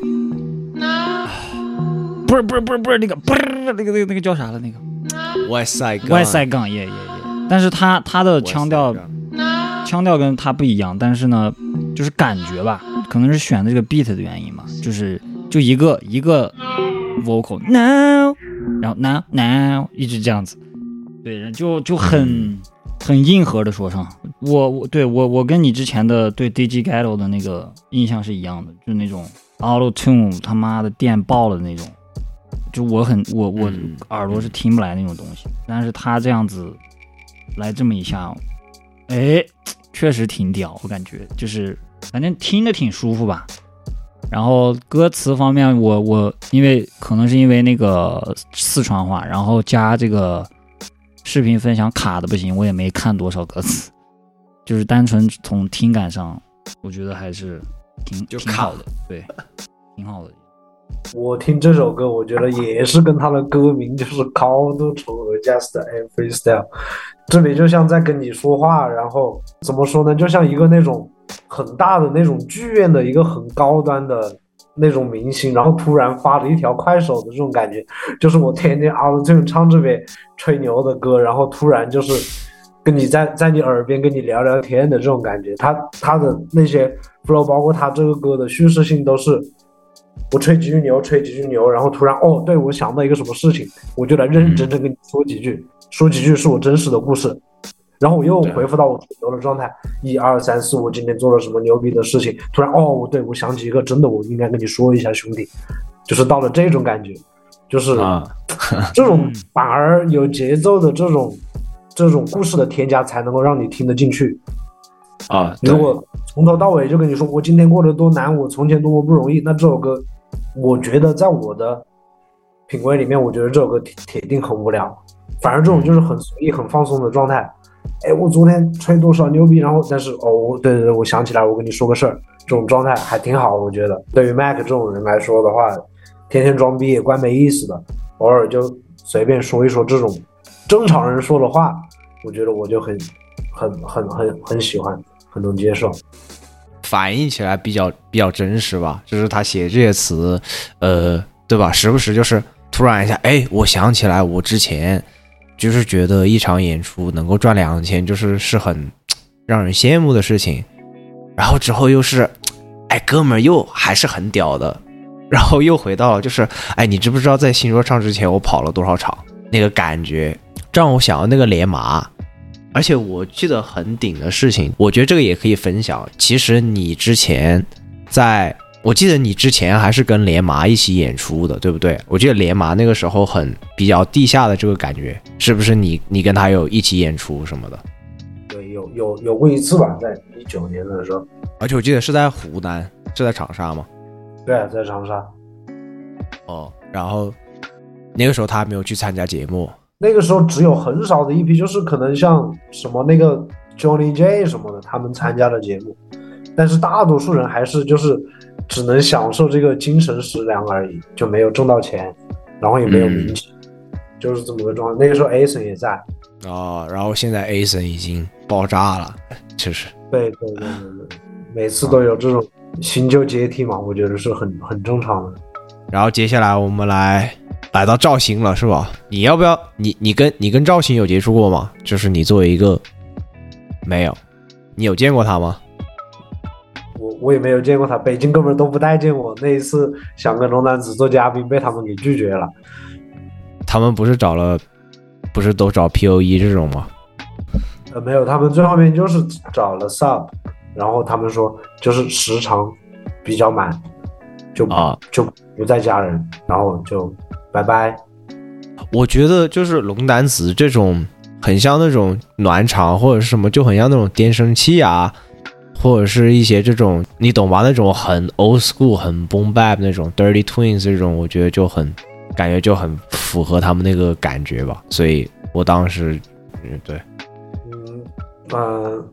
[SPEAKER 3] 不是不是不是不是那个不是那个那个那个叫啥了那个
[SPEAKER 2] West Side
[SPEAKER 3] West Side Gun 耶耶耶，但是他他的腔调腔调跟他不一样，但是呢，就是感觉吧，可能是选这个 beat 的原因嘛，就是就一个一个 vocal now， 然后 now now 一直这样子，对，就就很很硬核的说唱。我我对我我跟你之前的对 D J Ghetto 的那个印象是一样的，就是那种 Auto Tune 他妈的电爆了那种。就我很我我耳朵是听不来那种东西，但是他这样子来这么一下，哎，确实挺屌，我感觉就是反正听得挺舒服吧。然后歌词方面我，我我因为可能是因为那个四川话，然后加这个视频分享卡的不行，我也没看多少歌词，就是单纯从听感上，我觉得还是挺
[SPEAKER 2] 就
[SPEAKER 3] 挺好的，对，挺好的。
[SPEAKER 5] 我听这首歌，我觉得也是跟他的歌名就是高度重合 ，Just a Freestyle， 这里就像在跟你说话，然后怎么说呢，就像一个那种很大的那种剧院的一个很高端的那种明星，然后突然发了一条快手的这种感觉，就是我天天啊这种唱这边吹牛的歌，然后突然就是跟你在在你耳边跟你聊聊天的这种感觉，他他的那些 flow， 包括他这个歌的叙事性都是。我吹几句牛，吹几句牛，然后突然哦，对我想到一个什么事情，我就来认认真真跟你说几句，说几句是我真实的故事，然后我又回复到我吹牛的状态，一二三四，我今天做了什么牛逼的事情，突然哦，对我想起一个真的，我应该跟你说一下，兄弟，就是到了这种感觉，就是啊，这种反而有节奏的这种这种故事的添加，才能够让你听得进去。
[SPEAKER 2] 啊，
[SPEAKER 5] 如果从头到尾就跟你说我今天过得多难，我从前多么不容易，那这首歌我觉得在我的品味里面，我觉得这首歌铁定很无聊，反而这种就是很随意很放松的状态。哎，我昨天吹多少牛逼，然后但是哦，对对对，我想起来我跟你说个事儿，这种状态还挺好。我觉得对于 Mac 这种人来说的话，天天装逼也怪没意思的，偶尔就随便说一说这种正常人说的话，我觉得我就很很很很很喜欢，很能接受，
[SPEAKER 2] 反映起来比较比较真实吧。就是他写这些词，呃，对吧？时不时就是突然一下，哎，我想起来，我之前就是觉得一场演出能够赚两千，就是是很让人羡慕的事情。然后之后又是，哎，哥们儿又还是很屌的。然后又回到了就是，哎，你知不知道在新说唱之前我跑了多少场？那个感觉让我想到那个连麻。而且我记得很顶的事情，我觉得这个也可以分享。其实你之前在，我记得你之前还是跟连麻一起演出的，对不对？我记得连麻那个时候很比较地下的这个感觉，是不是你你跟他有一起演出什么的？
[SPEAKER 5] 对，有有有过一次吧，在一九年的时候。
[SPEAKER 2] 而且我记得是在湖南，是在长沙吗？
[SPEAKER 5] 对啊，在长沙。
[SPEAKER 2] 哦，然后那个时候他还没有去参加节目。
[SPEAKER 5] 那个时候只有很少的一批，就是可能像什么那个 Johnny J 什么的，他们参加的节目，但是大多数人还是就是只能享受这个精神食粮而已，就没有挣到钱，然后也没有名气，嗯、就是这么个状态。那个时候 Ason 也在
[SPEAKER 2] 哦，然后现在 Ason 已经爆炸了，就是。
[SPEAKER 5] 对对对对对，每次都有这种新旧阶梯嘛，我觉得是很很正常的。
[SPEAKER 2] 然后接下来我们来。来到赵鑫了是吧？你要不要你你跟你跟赵鑫有接触过吗？就是你作为一个没有，你有见过他吗？
[SPEAKER 5] 我我也没有见过他，北京哥们都不待见我。那一次想跟龙男子做嘉宾，被他们给拒绝了。
[SPEAKER 2] 他们不是找了，不是都找 P O E 这种吗？
[SPEAKER 5] 呃，没有，他们最后面就是找了 Sub， 然后他们说就是时长比较满，就啊就不再加人，然后就。拜拜。
[SPEAKER 2] 我觉得就是龙丹子这种很像那种暖场或者是什么，就很像那种电声器啊，或者是一些这种你懂吧，那种很 old school 很 boom bap 那种 Dirty Twins 这种，我觉得就很感觉就很符合他们那个感觉吧。所以我当时嗯对
[SPEAKER 5] 嗯呃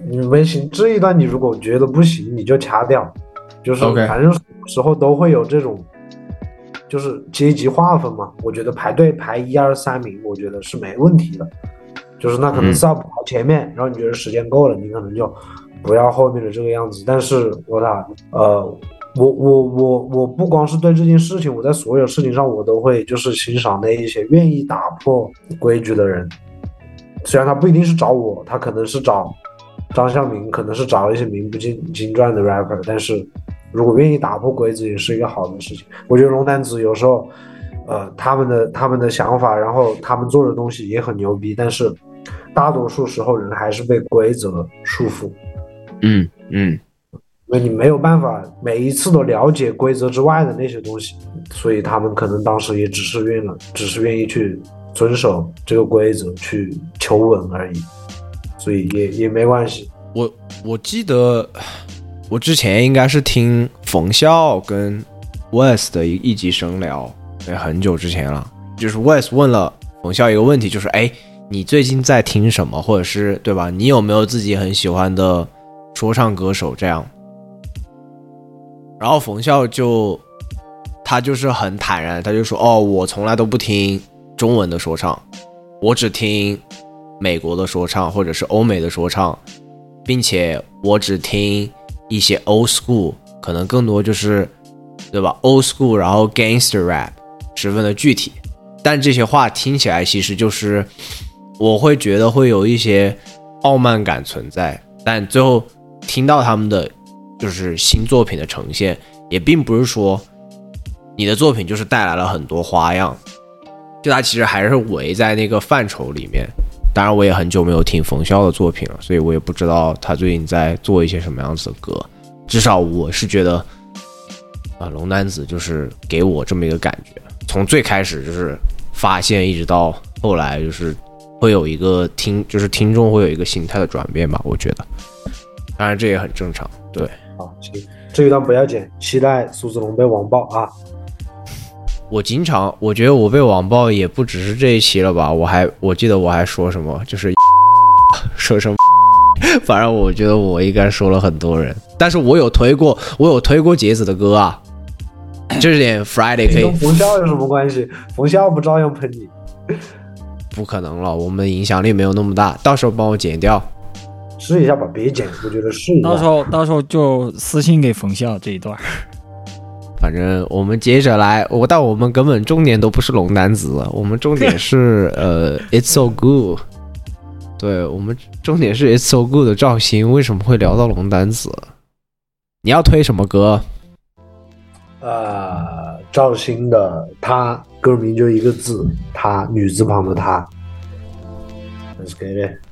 [SPEAKER 5] 你微信这一段你如果觉得不行，你就掐掉，就是
[SPEAKER 2] OK
[SPEAKER 5] 反正时候都会有这种，就是阶级划分嘛。我觉得排队排一二三名，我觉得是没问题的。就是那可能 sub 排前面，嗯、然后你觉得时间够了，你可能就不要后面的这个样子。但是我操，呃。我我我我不光是对这件事情，我在所有事情上我都会就是欣赏那一些愿意打破规矩的人。虽然他不一定是找我，他可能是找张孝明，可能是找一些名不经经传的 rapper， 但是如果愿意打破规则，也是一个好的事情。我觉得龙丹子有时候，呃，他们的他们的想法，然后他们做的东西也很牛逼，但是大多数时候人还是被规则束缚。
[SPEAKER 2] 嗯嗯。
[SPEAKER 5] 因为你没有办法每一次都了解规则之外的那些东西，所以他们可能当时也只是愿了，只是愿意去遵守这个规则，去求稳而已，所以也也没关系。
[SPEAKER 2] 我我记得我之前应该是听冯笑跟 Wes 的一一集声聊，对，很久之前了。就是 Wes 问了冯笑一个问题，就是哎，你最近在听什么，或者是对吧？你有没有自己很喜欢的说唱歌手这样？然后冯笑就他就是很坦然，他就说哦，我从来都不听中文的说唱，我只听美国的说唱或者是欧美的说唱，并且我只听一些 old school， 可能更多就是对吧 old school， 然后 gangster rap 十分的具体，但这些话听起来其实就是我会觉得会有一些傲慢感存在，但最后听到他们的就是新作品的呈现，也并不是说你的作品就是带来了很多花样，就它其实还是围在那个范畴里面。当然我也很久没有听冯笑的作品了，所以我也不知道他最近在做一些什么样子的歌，至少我是觉得啊，龙丹子就是给我这么一个感觉，从最开始就是发现一直到后来就是会有一个听就是听众会有一个心态的转变吧，我觉得当然这也很正常。对，
[SPEAKER 5] 好，行，这一段不要剪，期待苏子龙被网暴啊！
[SPEAKER 2] 我经常，我觉得我被网暴也不只是这一期了吧，我还我记得我还说什么，就是说什么，反正我觉得我应该说了很多人，但是我有推过，我有推过杰子的歌啊，这点 Friday 可以。
[SPEAKER 5] 跟冯笑有什么关系？冯笑不照样喷你？
[SPEAKER 2] 不可能了，我们影响力没有那么大，到时候帮我剪掉。
[SPEAKER 5] 试一下吧，别剪，我觉得试一下。
[SPEAKER 3] 到时候到时候就私信给冯笑这一段。
[SPEAKER 2] 反正我们接着来，我但我们根本重点都不是龙丹子，我们重点是呃 It's So Good， 对，我们重点是 It's So Good 的赵鑫，为什么会聊到龙丹子？你要推什么歌？
[SPEAKER 5] 呃，赵鑫的他歌名就一个字，他女字旁的他。Let's get it。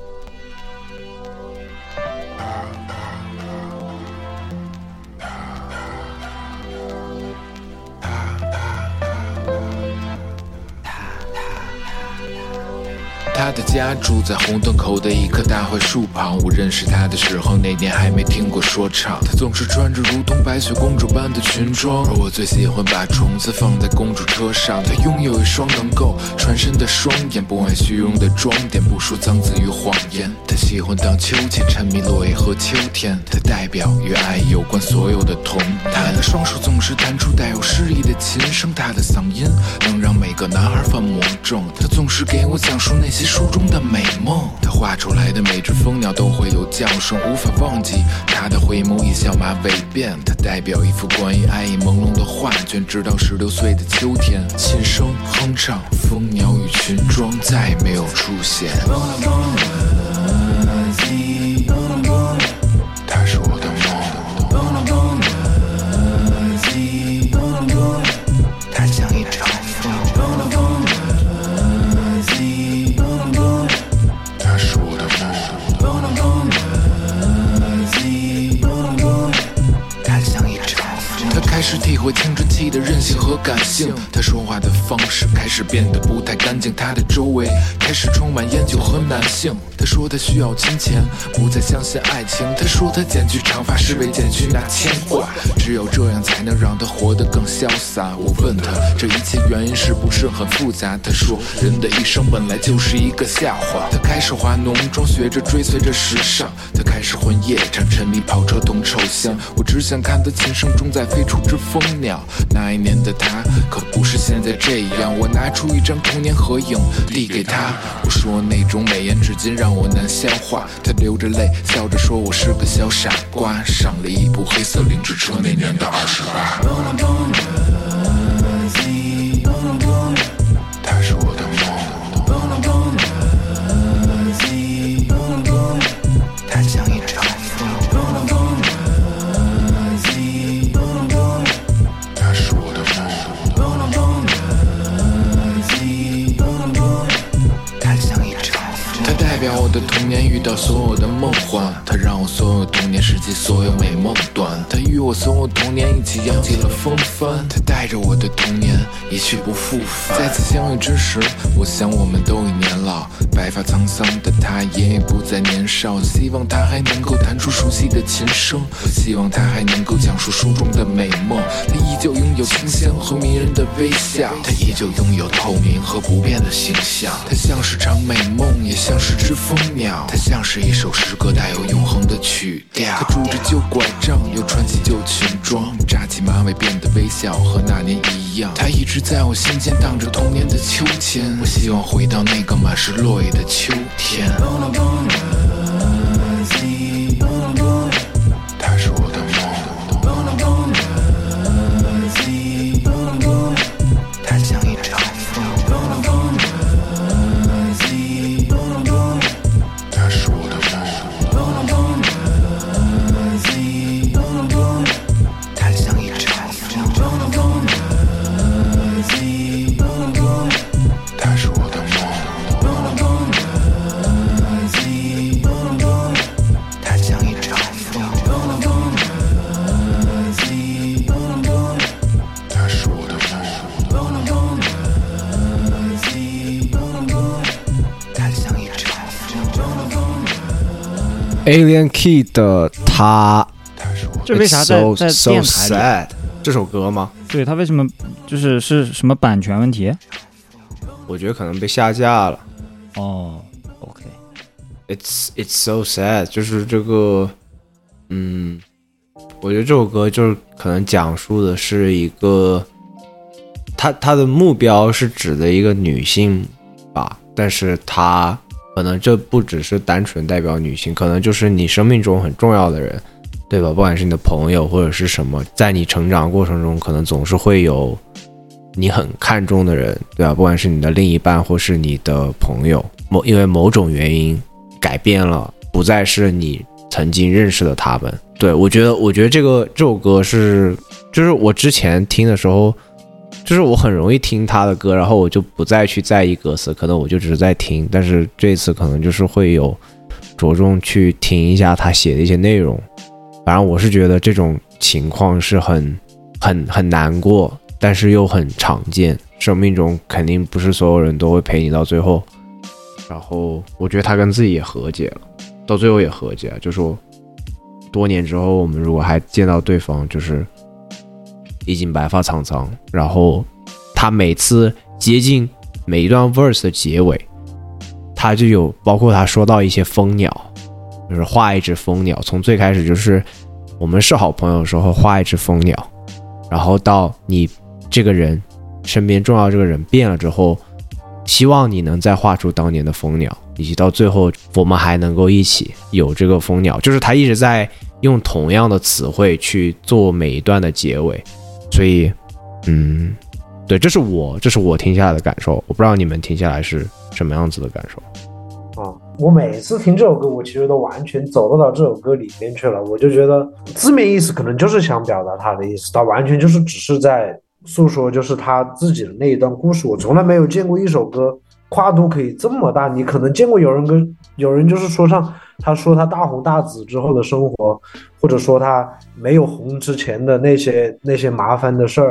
[SPEAKER 9] 他的家住在红灯口的一棵大槐树旁，我认识他的时候那年还没听过说唱。他总是穿着如同白雪公主般的裙装，而我最喜欢把虫子放在公主车上。他拥有一双能够穿身的双眼，不爱虚荣的装点，不说脏字与谎言。他喜欢荡秋千，沉迷落叶和秋天。他代表与爱有关所有的童年。他的双手总是弹出带有诗意的琴声，他的嗓音能让每个男孩犯魔怔。他总是给我讲述那些书中的美梦，他画出来的每只蜂鸟都会有叫声，无法忘记他的回眸一笑马尾辫。他代表一幅关于爱意朦胧的画卷，直到十六岁的秋天，琴声哼唱，蜂鸟与裙装再没有出现。他是我的梦，他像一场风，他是我的梦，他像一场风。他开始体会青春期的任性和感性，他说话的方式开始变得不太干净，他的周围开始充满烟酒和男性。他说他需要金钱，不再相信爱情。他说他剪去长发是为剪去那牵挂，只有这样才能让他活得更潇洒。我问他这一切原因是不是很复杂，他说人的一生本来就是一个笑话。他开始化浓妆，学着追随着时尚。他开始混夜场，沉迷跑车同臭香。我只想看他琴声中在飞出只蜂鸟。那一年的他可不是现在这样。我拿出一张童年合影递给他，我说那种美颜至今让我难消化。他流着泪笑着说我是个小傻瓜，上了一部黑色凌志车，那年的二十八。他是我的梦，他像一场风，他是我的梦，他像一场风，他代表我的童年遇到所有的梦幻，他让我所有童年时期所有美梦断，他与我所有童年一起扬起了风帆，他带着我的童年一去不复返。再次相遇之时，我想我们都已年老，白发沧桑的他也不再年少，希望他还能够弹出熟悉的琴声，希望他还能够讲述书中的美梦。他依旧拥有清香和迷人的微笑，他依旧拥有透明和不变的形象。他像是场美梦，也像是只蜂鸟，他像是一首诗歌带有永恒的曲调。他拄着旧拐杖，又穿起旧裙装，扎起马尾变得微笑和那年一样。他一直在我心间荡着童年的秋千，我希望回到那个满是落叶的秋天。他是我的梦，他像一场风，他是我的梦，他像一场风，他是我的梦，他像一场风，他是我的梦，他像一场风。
[SPEAKER 2] Alien Kid 的他，
[SPEAKER 3] 这为啥在
[SPEAKER 2] It's
[SPEAKER 3] 在
[SPEAKER 2] so,
[SPEAKER 3] 电
[SPEAKER 2] so
[SPEAKER 3] 台里？
[SPEAKER 2] sad 这首歌吗？
[SPEAKER 3] 对，他为什么就是是什么版权问题？
[SPEAKER 2] 我觉得可能被下架了。
[SPEAKER 3] 哦 ，OK，
[SPEAKER 2] It's it's so sad， 就是这个，嗯，我觉得这首歌就是可能讲述的是一个，他他的目标是指的一个女性吧，但是他可能这不只是单纯代表女性，可能就是你生命中很重要的人，对吧？不管是你的朋友或者是什么，在你成长过程中，可能总是会有你很看重的人，对吧？不管是你的另一半或是你的朋友，某因为某种原因改变了，不再是你曾经认识的他们。对，我觉得，我觉得这个这首歌是，就是我之前听的时候，就是我很容易听他的歌，然后我就不再去在意歌词，可能我就只是在听。但是这次可能就是会有着重去听一下他写的一些内容。反正我是觉得这种情况是很很很难过，但是又很常见。生命中肯定不是所有人都会陪你到最后。然后我觉得他跟自己也和解了，到最后也和解了，就说多年之后我们如果还见到对方，就是已经白发苍苍。然后他每次接近每一段 verse 的结尾，他就有包括他说到一些蜂鸟，就是画一只蜂鸟，从最开始就是我们是好朋友的时候画一只蜂鸟，然后到你这个人身边重要这个人变了之后，希望你能再画出当年的蜂鸟，以及到最后我们还能够一起有这个蜂鸟，就是他一直在用同样的词汇去做每一段的结尾。所以嗯，对，这是我这是我听下来的感受，我不知道你们听下来是什么样子的感受。
[SPEAKER 5] 啊，我每次听这首歌，我其实都完全走到这首歌里面去了。我就觉得字面意思可能就是想表达他的意思，他完全就是只是在诉说就是他自己的那一段故事。我从来没有见过一首歌跨度可以这么大。你可能见过有人跟有人就是说唱，他说他大红大紫之后的生活，或者说他没有红之前的那些那些麻烦的事儿，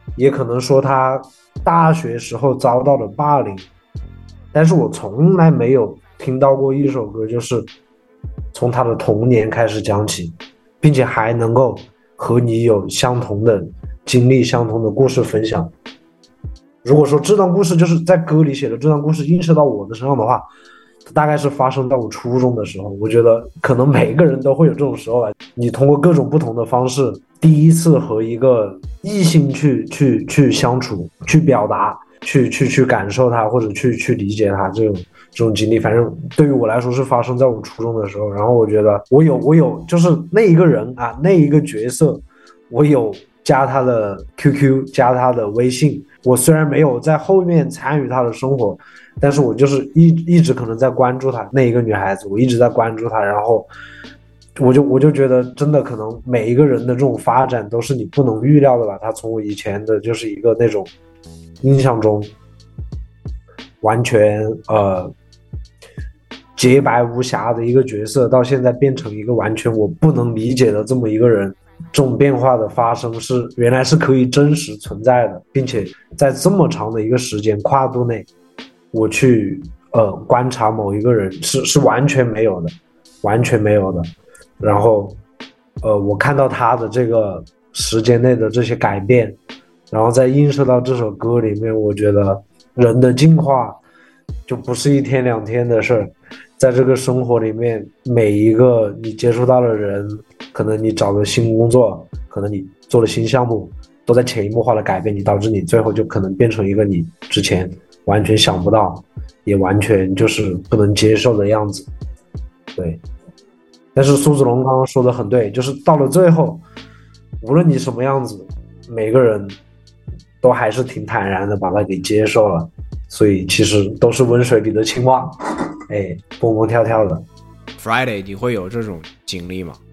[SPEAKER 5] 也可能说他大学时候遭到了霸凌，但是我从来没有听到过一首歌就是从他的童年开始讲起，并且还能够和你有相同的经历、相同的故事分享。如果说这段故事就是在歌里写的这段故事映射到我的身上的话，大概是发生在我初中的时候。我觉得可能每个人都会有这种时候吧，你通过各种不同的方式第一次和一个异性去去去相处，去表达，去去去感受它，或者去去理解它，这种这种经历，反正对于我来说是发生在我初中的时候。然后我觉得我有我有就是那一个人啊，那一个角色，我有加他的 Q Q， 加他的微信。我虽然没有在后面参与他的生活，但是我就是一一直可能在关注他那一个女孩子，我一直在关注她。然后我就我就觉得真的可能每一个人的这种发展都是你不能预料的吧。他从我以前的就是一个那种印象中完全呃洁白无瑕的一个角色，到现在变成一个完全我不能理解的这么一个人。这种变化的发生是原来是可以真实存在的，并且在这么长的一个时间跨度内，我去呃观察某一个人是是完全没有的，完全没有的。然后呃我看到他的这个时间内的这些改变，然后再映射到这首歌里面，我觉得人的进化就不是一天两天的事儿。在这个生活里面，每一个你接触到的人，可能你找了新工作，可能你做了新项目，都在潜移默化的改变你，导致你最后就可能变成一个你之前完全想不到，也完全就是不能接受的样子。对，但是苏子龙刚刚说的很对，就是到了最后，无论你什么样子，每个人都还是挺坦然的把它给接受了。所以其实都是温水里的青蛙，哎，蹦蹦跳跳的。
[SPEAKER 2] Friday， 你会有这种经历吗？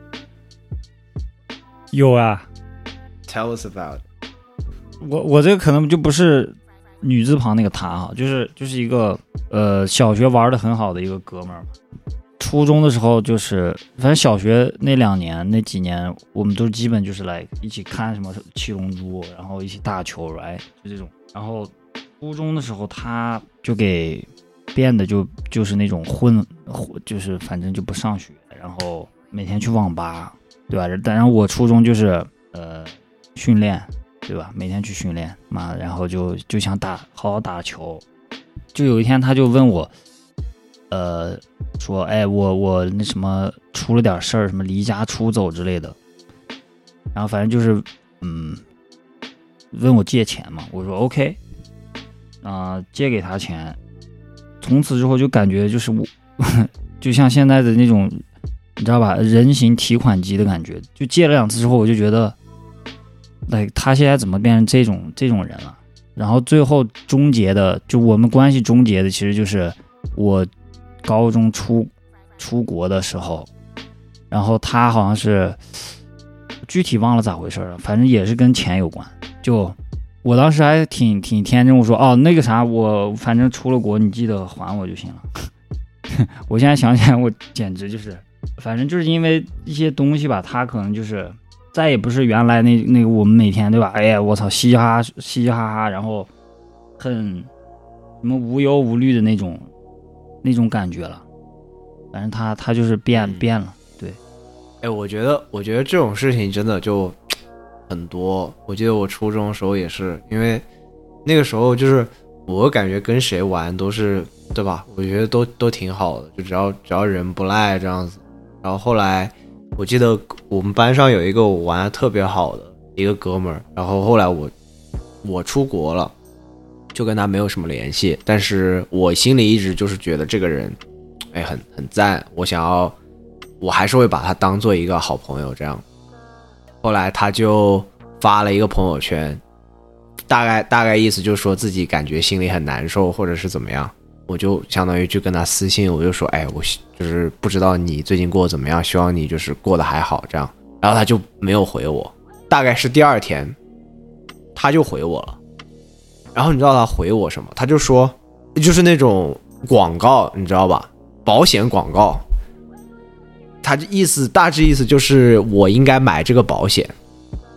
[SPEAKER 3] 有啊
[SPEAKER 2] ，Tell us about。
[SPEAKER 3] 我我这个可能就不是女字旁那个他哈，就是就是一个呃小学玩的很好的一个哥们儿。初中的时候就是，反正小学那两年那几年，我们都基本就是来一起看什么七龙珠，然后一起打球，哎，就这种。然后初中的时候，他就给变得就就是那种混，就是反正就不上学，然后每天去网吧，对吧？但然后我初中就是呃训练，对吧？每天去训练嘛，然后就就想打好好打球。就有一天他就问我，呃，说，哎，我我那什么出了点事儿，什么离家出走之类的。然后反正就是嗯，问我借钱嘛，我说 OK。啊、呃，借给他钱，从此之后就感觉就是我，就像现在的那种，你知道吧，人形提款机的感觉。就借了两次之后，我就觉得，哎，他现在怎么变成这种这种人了？然后最后终结的，就我们关系终结的，其实就是我高中出出国的时候，然后他好像是具体忘了咋回事了，反正也是跟钱有关，就。我当时还挺挺天真，我说哦那个啥，我反正出了国，你记得还我就行了。我现在想起来，我简直就是，反正就是因为一些东西吧，他可能就是再也不是原来那那个我们每天对吧？哎呀，我操，嘻嘻哈哈嘻嘻哈哈，然后很什么无忧无虑的那种那种感觉了。反正他他就是变变了，对。
[SPEAKER 2] 哎，我觉得我觉得这种事情真的就。很多，我记得我初中的时候也是，因为那个时候就是我感觉跟谁玩都是对吧？我觉得都都挺好的，就只要只要人不赖这样子。然后后来我记得我们班上有一个我玩的特别好的一个哥们儿，然后后来我我出国了，就跟他没有什么联系，但是我心里一直就是觉得这个人哎很很赞，我想要我还是会把他当做一个好朋友这样。后来他就发了一个朋友圈，大概大概意思就是说自己感觉心里很难受或者是怎么样，我就相当于去跟他私信，我就说哎，我就是不知道你最近过得怎么样，希望你就是过得还好这样。然后他就没有回我，大概是第二天他就回我了。然后你知道他回我什么？他就说就是那种广告，你知道吧，保险广告。他的意思大致意思就是我应该买这个保险，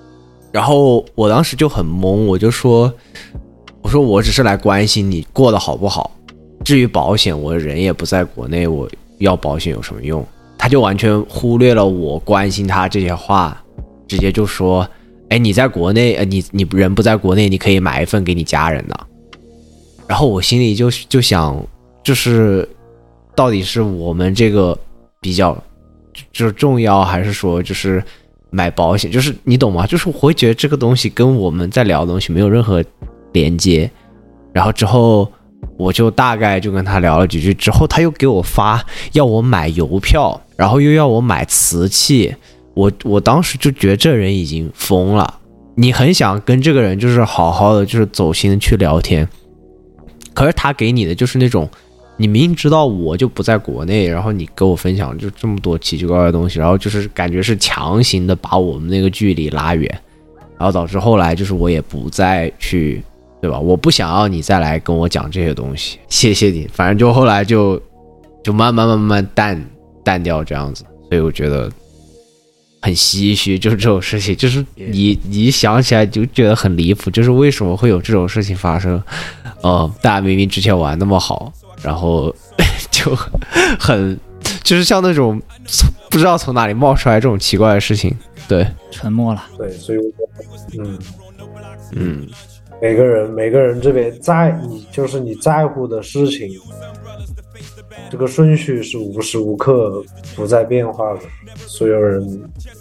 [SPEAKER 2] 然后我当时就很懵，我就说我说我只是来关心你过得好不好，至于保险我人也不在国内，我要保险有什么用？他就完全忽略了我关心他这些话，直接就说哎，你在国内，呃，你你人不在国内，你可以买一份给你家人的。然后我心里就就想，就是到底是我们这个比较就是重要，还是说就是买保险？就是你懂吗？就是我会觉得这个东西跟我们在聊的东西没有任何连接。然后之后我就大概就跟他聊了几句，之后他又给我发要我买邮票，然后又要我买瓷器。我我当时就觉得这人已经疯了，你很想跟这个人就是好好的就是走心的去聊天，可是他给你的就是那种，你明明知道我就不在国内，然后你跟我分享就这么多奇奇怪怪的东西，然后就是感觉是强行的把我们那个距离拉远，然后导致后来就是我也不再去，对吧？我不想要你再来跟我讲这些东西，谢谢你。反正就后来就就慢慢慢慢淡淡掉这样子，所以我觉得很唏嘘，就是这种事情，就是你你想起来就觉得很离谱，就是为什么会有这种事情发生？呃，大家明明之前玩那么好，然后就很就是像那种不知道从哪里冒出来这种奇怪的事情，对，
[SPEAKER 3] 沉默了。
[SPEAKER 5] 对，所以我觉得，嗯
[SPEAKER 2] 嗯，
[SPEAKER 5] 每个人每个人这边在你就是你在乎的事情，这个顺序是无时无刻不在变化的。所有人，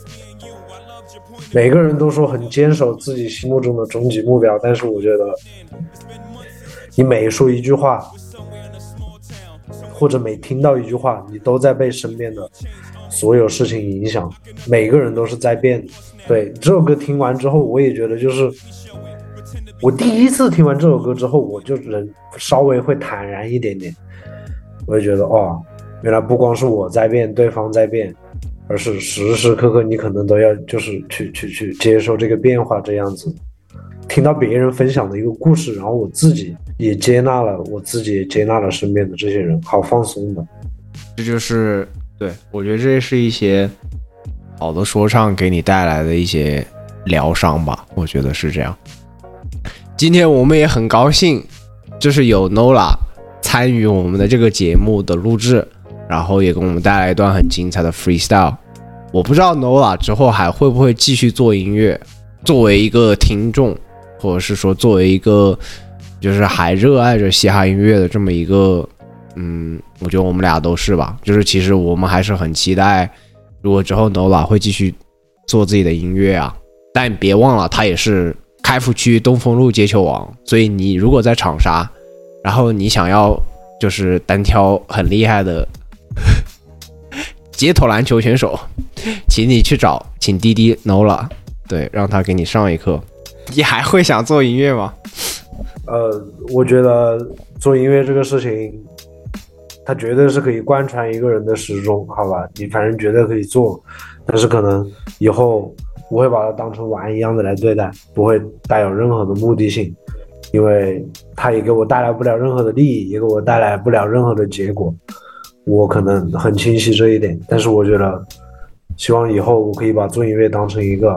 [SPEAKER 5] 每个人都说很坚守自己心目中的终极目标，但是我觉得，你每说一句话，或者每听到一句话，你都在被身边的所有事情影响。每个人都是在变的。对，这首歌听完之后，我也觉得就是，我第一次听完这首歌之后，我就人稍微会坦然一点点。我就觉得哦，原来不光是我在变，对方在变，而是时时刻刻你可能都要就是去去去接受这个变化这样子。听到别人分享的一个故事，然后我自己也接纳了，我自己也接纳了身边的这些人，好放松的。
[SPEAKER 2] 这就是对，我觉得这是一些好的说唱给你带来的一些疗伤吧，我觉得是这样。今天我们也很高兴，就是有 Nola 参与我们的这个节目的录制，然后也给我们带来一段很精彩的 freestyle。我不知道 Nola 之后还会不会继续做音乐，作为一个听众，或者是说作为一个就是还热爱着嘻哈音乐的这么一个，嗯，我觉得我们俩都是吧。就是其实我们还是很期待，如果之后 Nola 会继续做自己的音乐啊，但别忘了他也是开福区东风路接球王，所以你如果在长沙，然后你想要就是单挑很厉害的街头篮球选手，请你去找请滴滴 Nola， 对，让他给你上一课。你还会想做音乐吗？
[SPEAKER 5] 呃，我觉得做音乐这个事情，它绝对是可以贯穿一个人的始终，好吧？你反正绝对可以做，但是可能以后不会把它当成玩一样的来对待，不会带有任何的目的性，因为它也给我带来不了任何的利益，也给我带来不了任何的结果。我可能很清晰这一点，但是我觉得，希望以后我可以把做音乐当成一个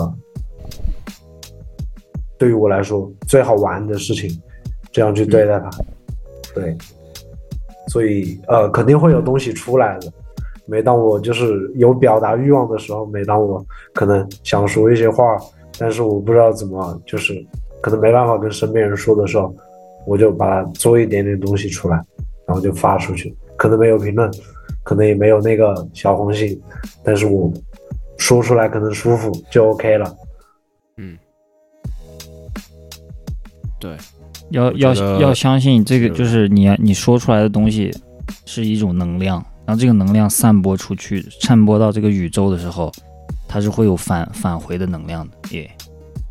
[SPEAKER 5] 对于我来说最好玩的事情，这样去对待它。对，所以呃，肯定会有东西出来的。每当我就是有表达欲望的时候，每当我可能想说一些话，但是我不知道怎么，就是可能没办法跟身边人说的时候，我就把它做一点点东西出来，然后就发出去。可能没有评论，可能也没有那个小红心，但是我说出来可能舒服就 OK 了。
[SPEAKER 2] 嗯，对，
[SPEAKER 3] 要要要相信这个，就是你你说出来的东西是一种能量，然后这个能量散播出去，散播到这个宇宙的时候，它是会有返返回的能量的。耶、yeah ，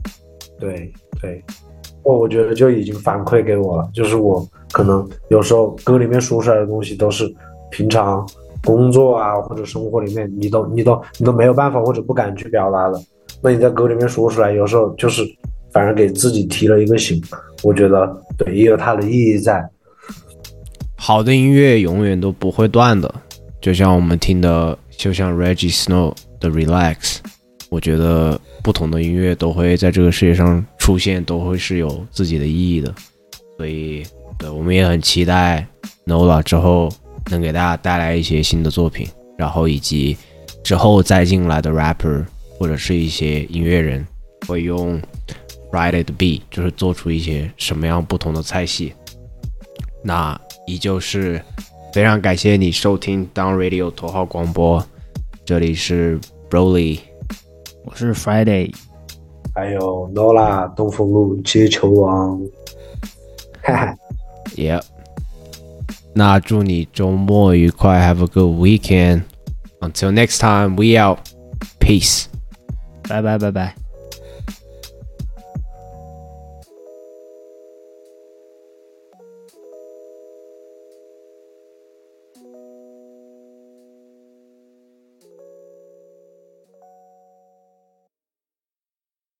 [SPEAKER 5] 对对，我我觉得就已经反馈给我了，就是我可能有时候歌里面说出来的东西都是平常工作啊或者生活里面你都你都你都没有办法或者不敢去表达的，那你在歌里面说出来，有时候就是反而给自己提了一个醒，我觉得对，也有它的意义在。
[SPEAKER 2] 好的音乐永远都不会断的，就像我们听的，就像 Reggie Snow 的 Relax， 我觉得不同的音乐都会在这个世界上出现，都会是有自己的意义的。所以对我们也很期待 Nola 之后能给大家带来一些新的作品，然后以及之后再进来的 rapper 或者是一些音乐人会用 Friday 的 beat 就是做出一些什么样不同的菜系。那依旧是非常感谢你收听 Down Radio 头号广播，这里是 Broly，
[SPEAKER 3] 我是 Friday，
[SPEAKER 5] 还有 Nola 东风路接球王，哈哈
[SPEAKER 2] ，Yep。那祝你周末愉快 ，Have a good weekend。Until next time, we out. Peace.
[SPEAKER 3] 拜拜拜拜。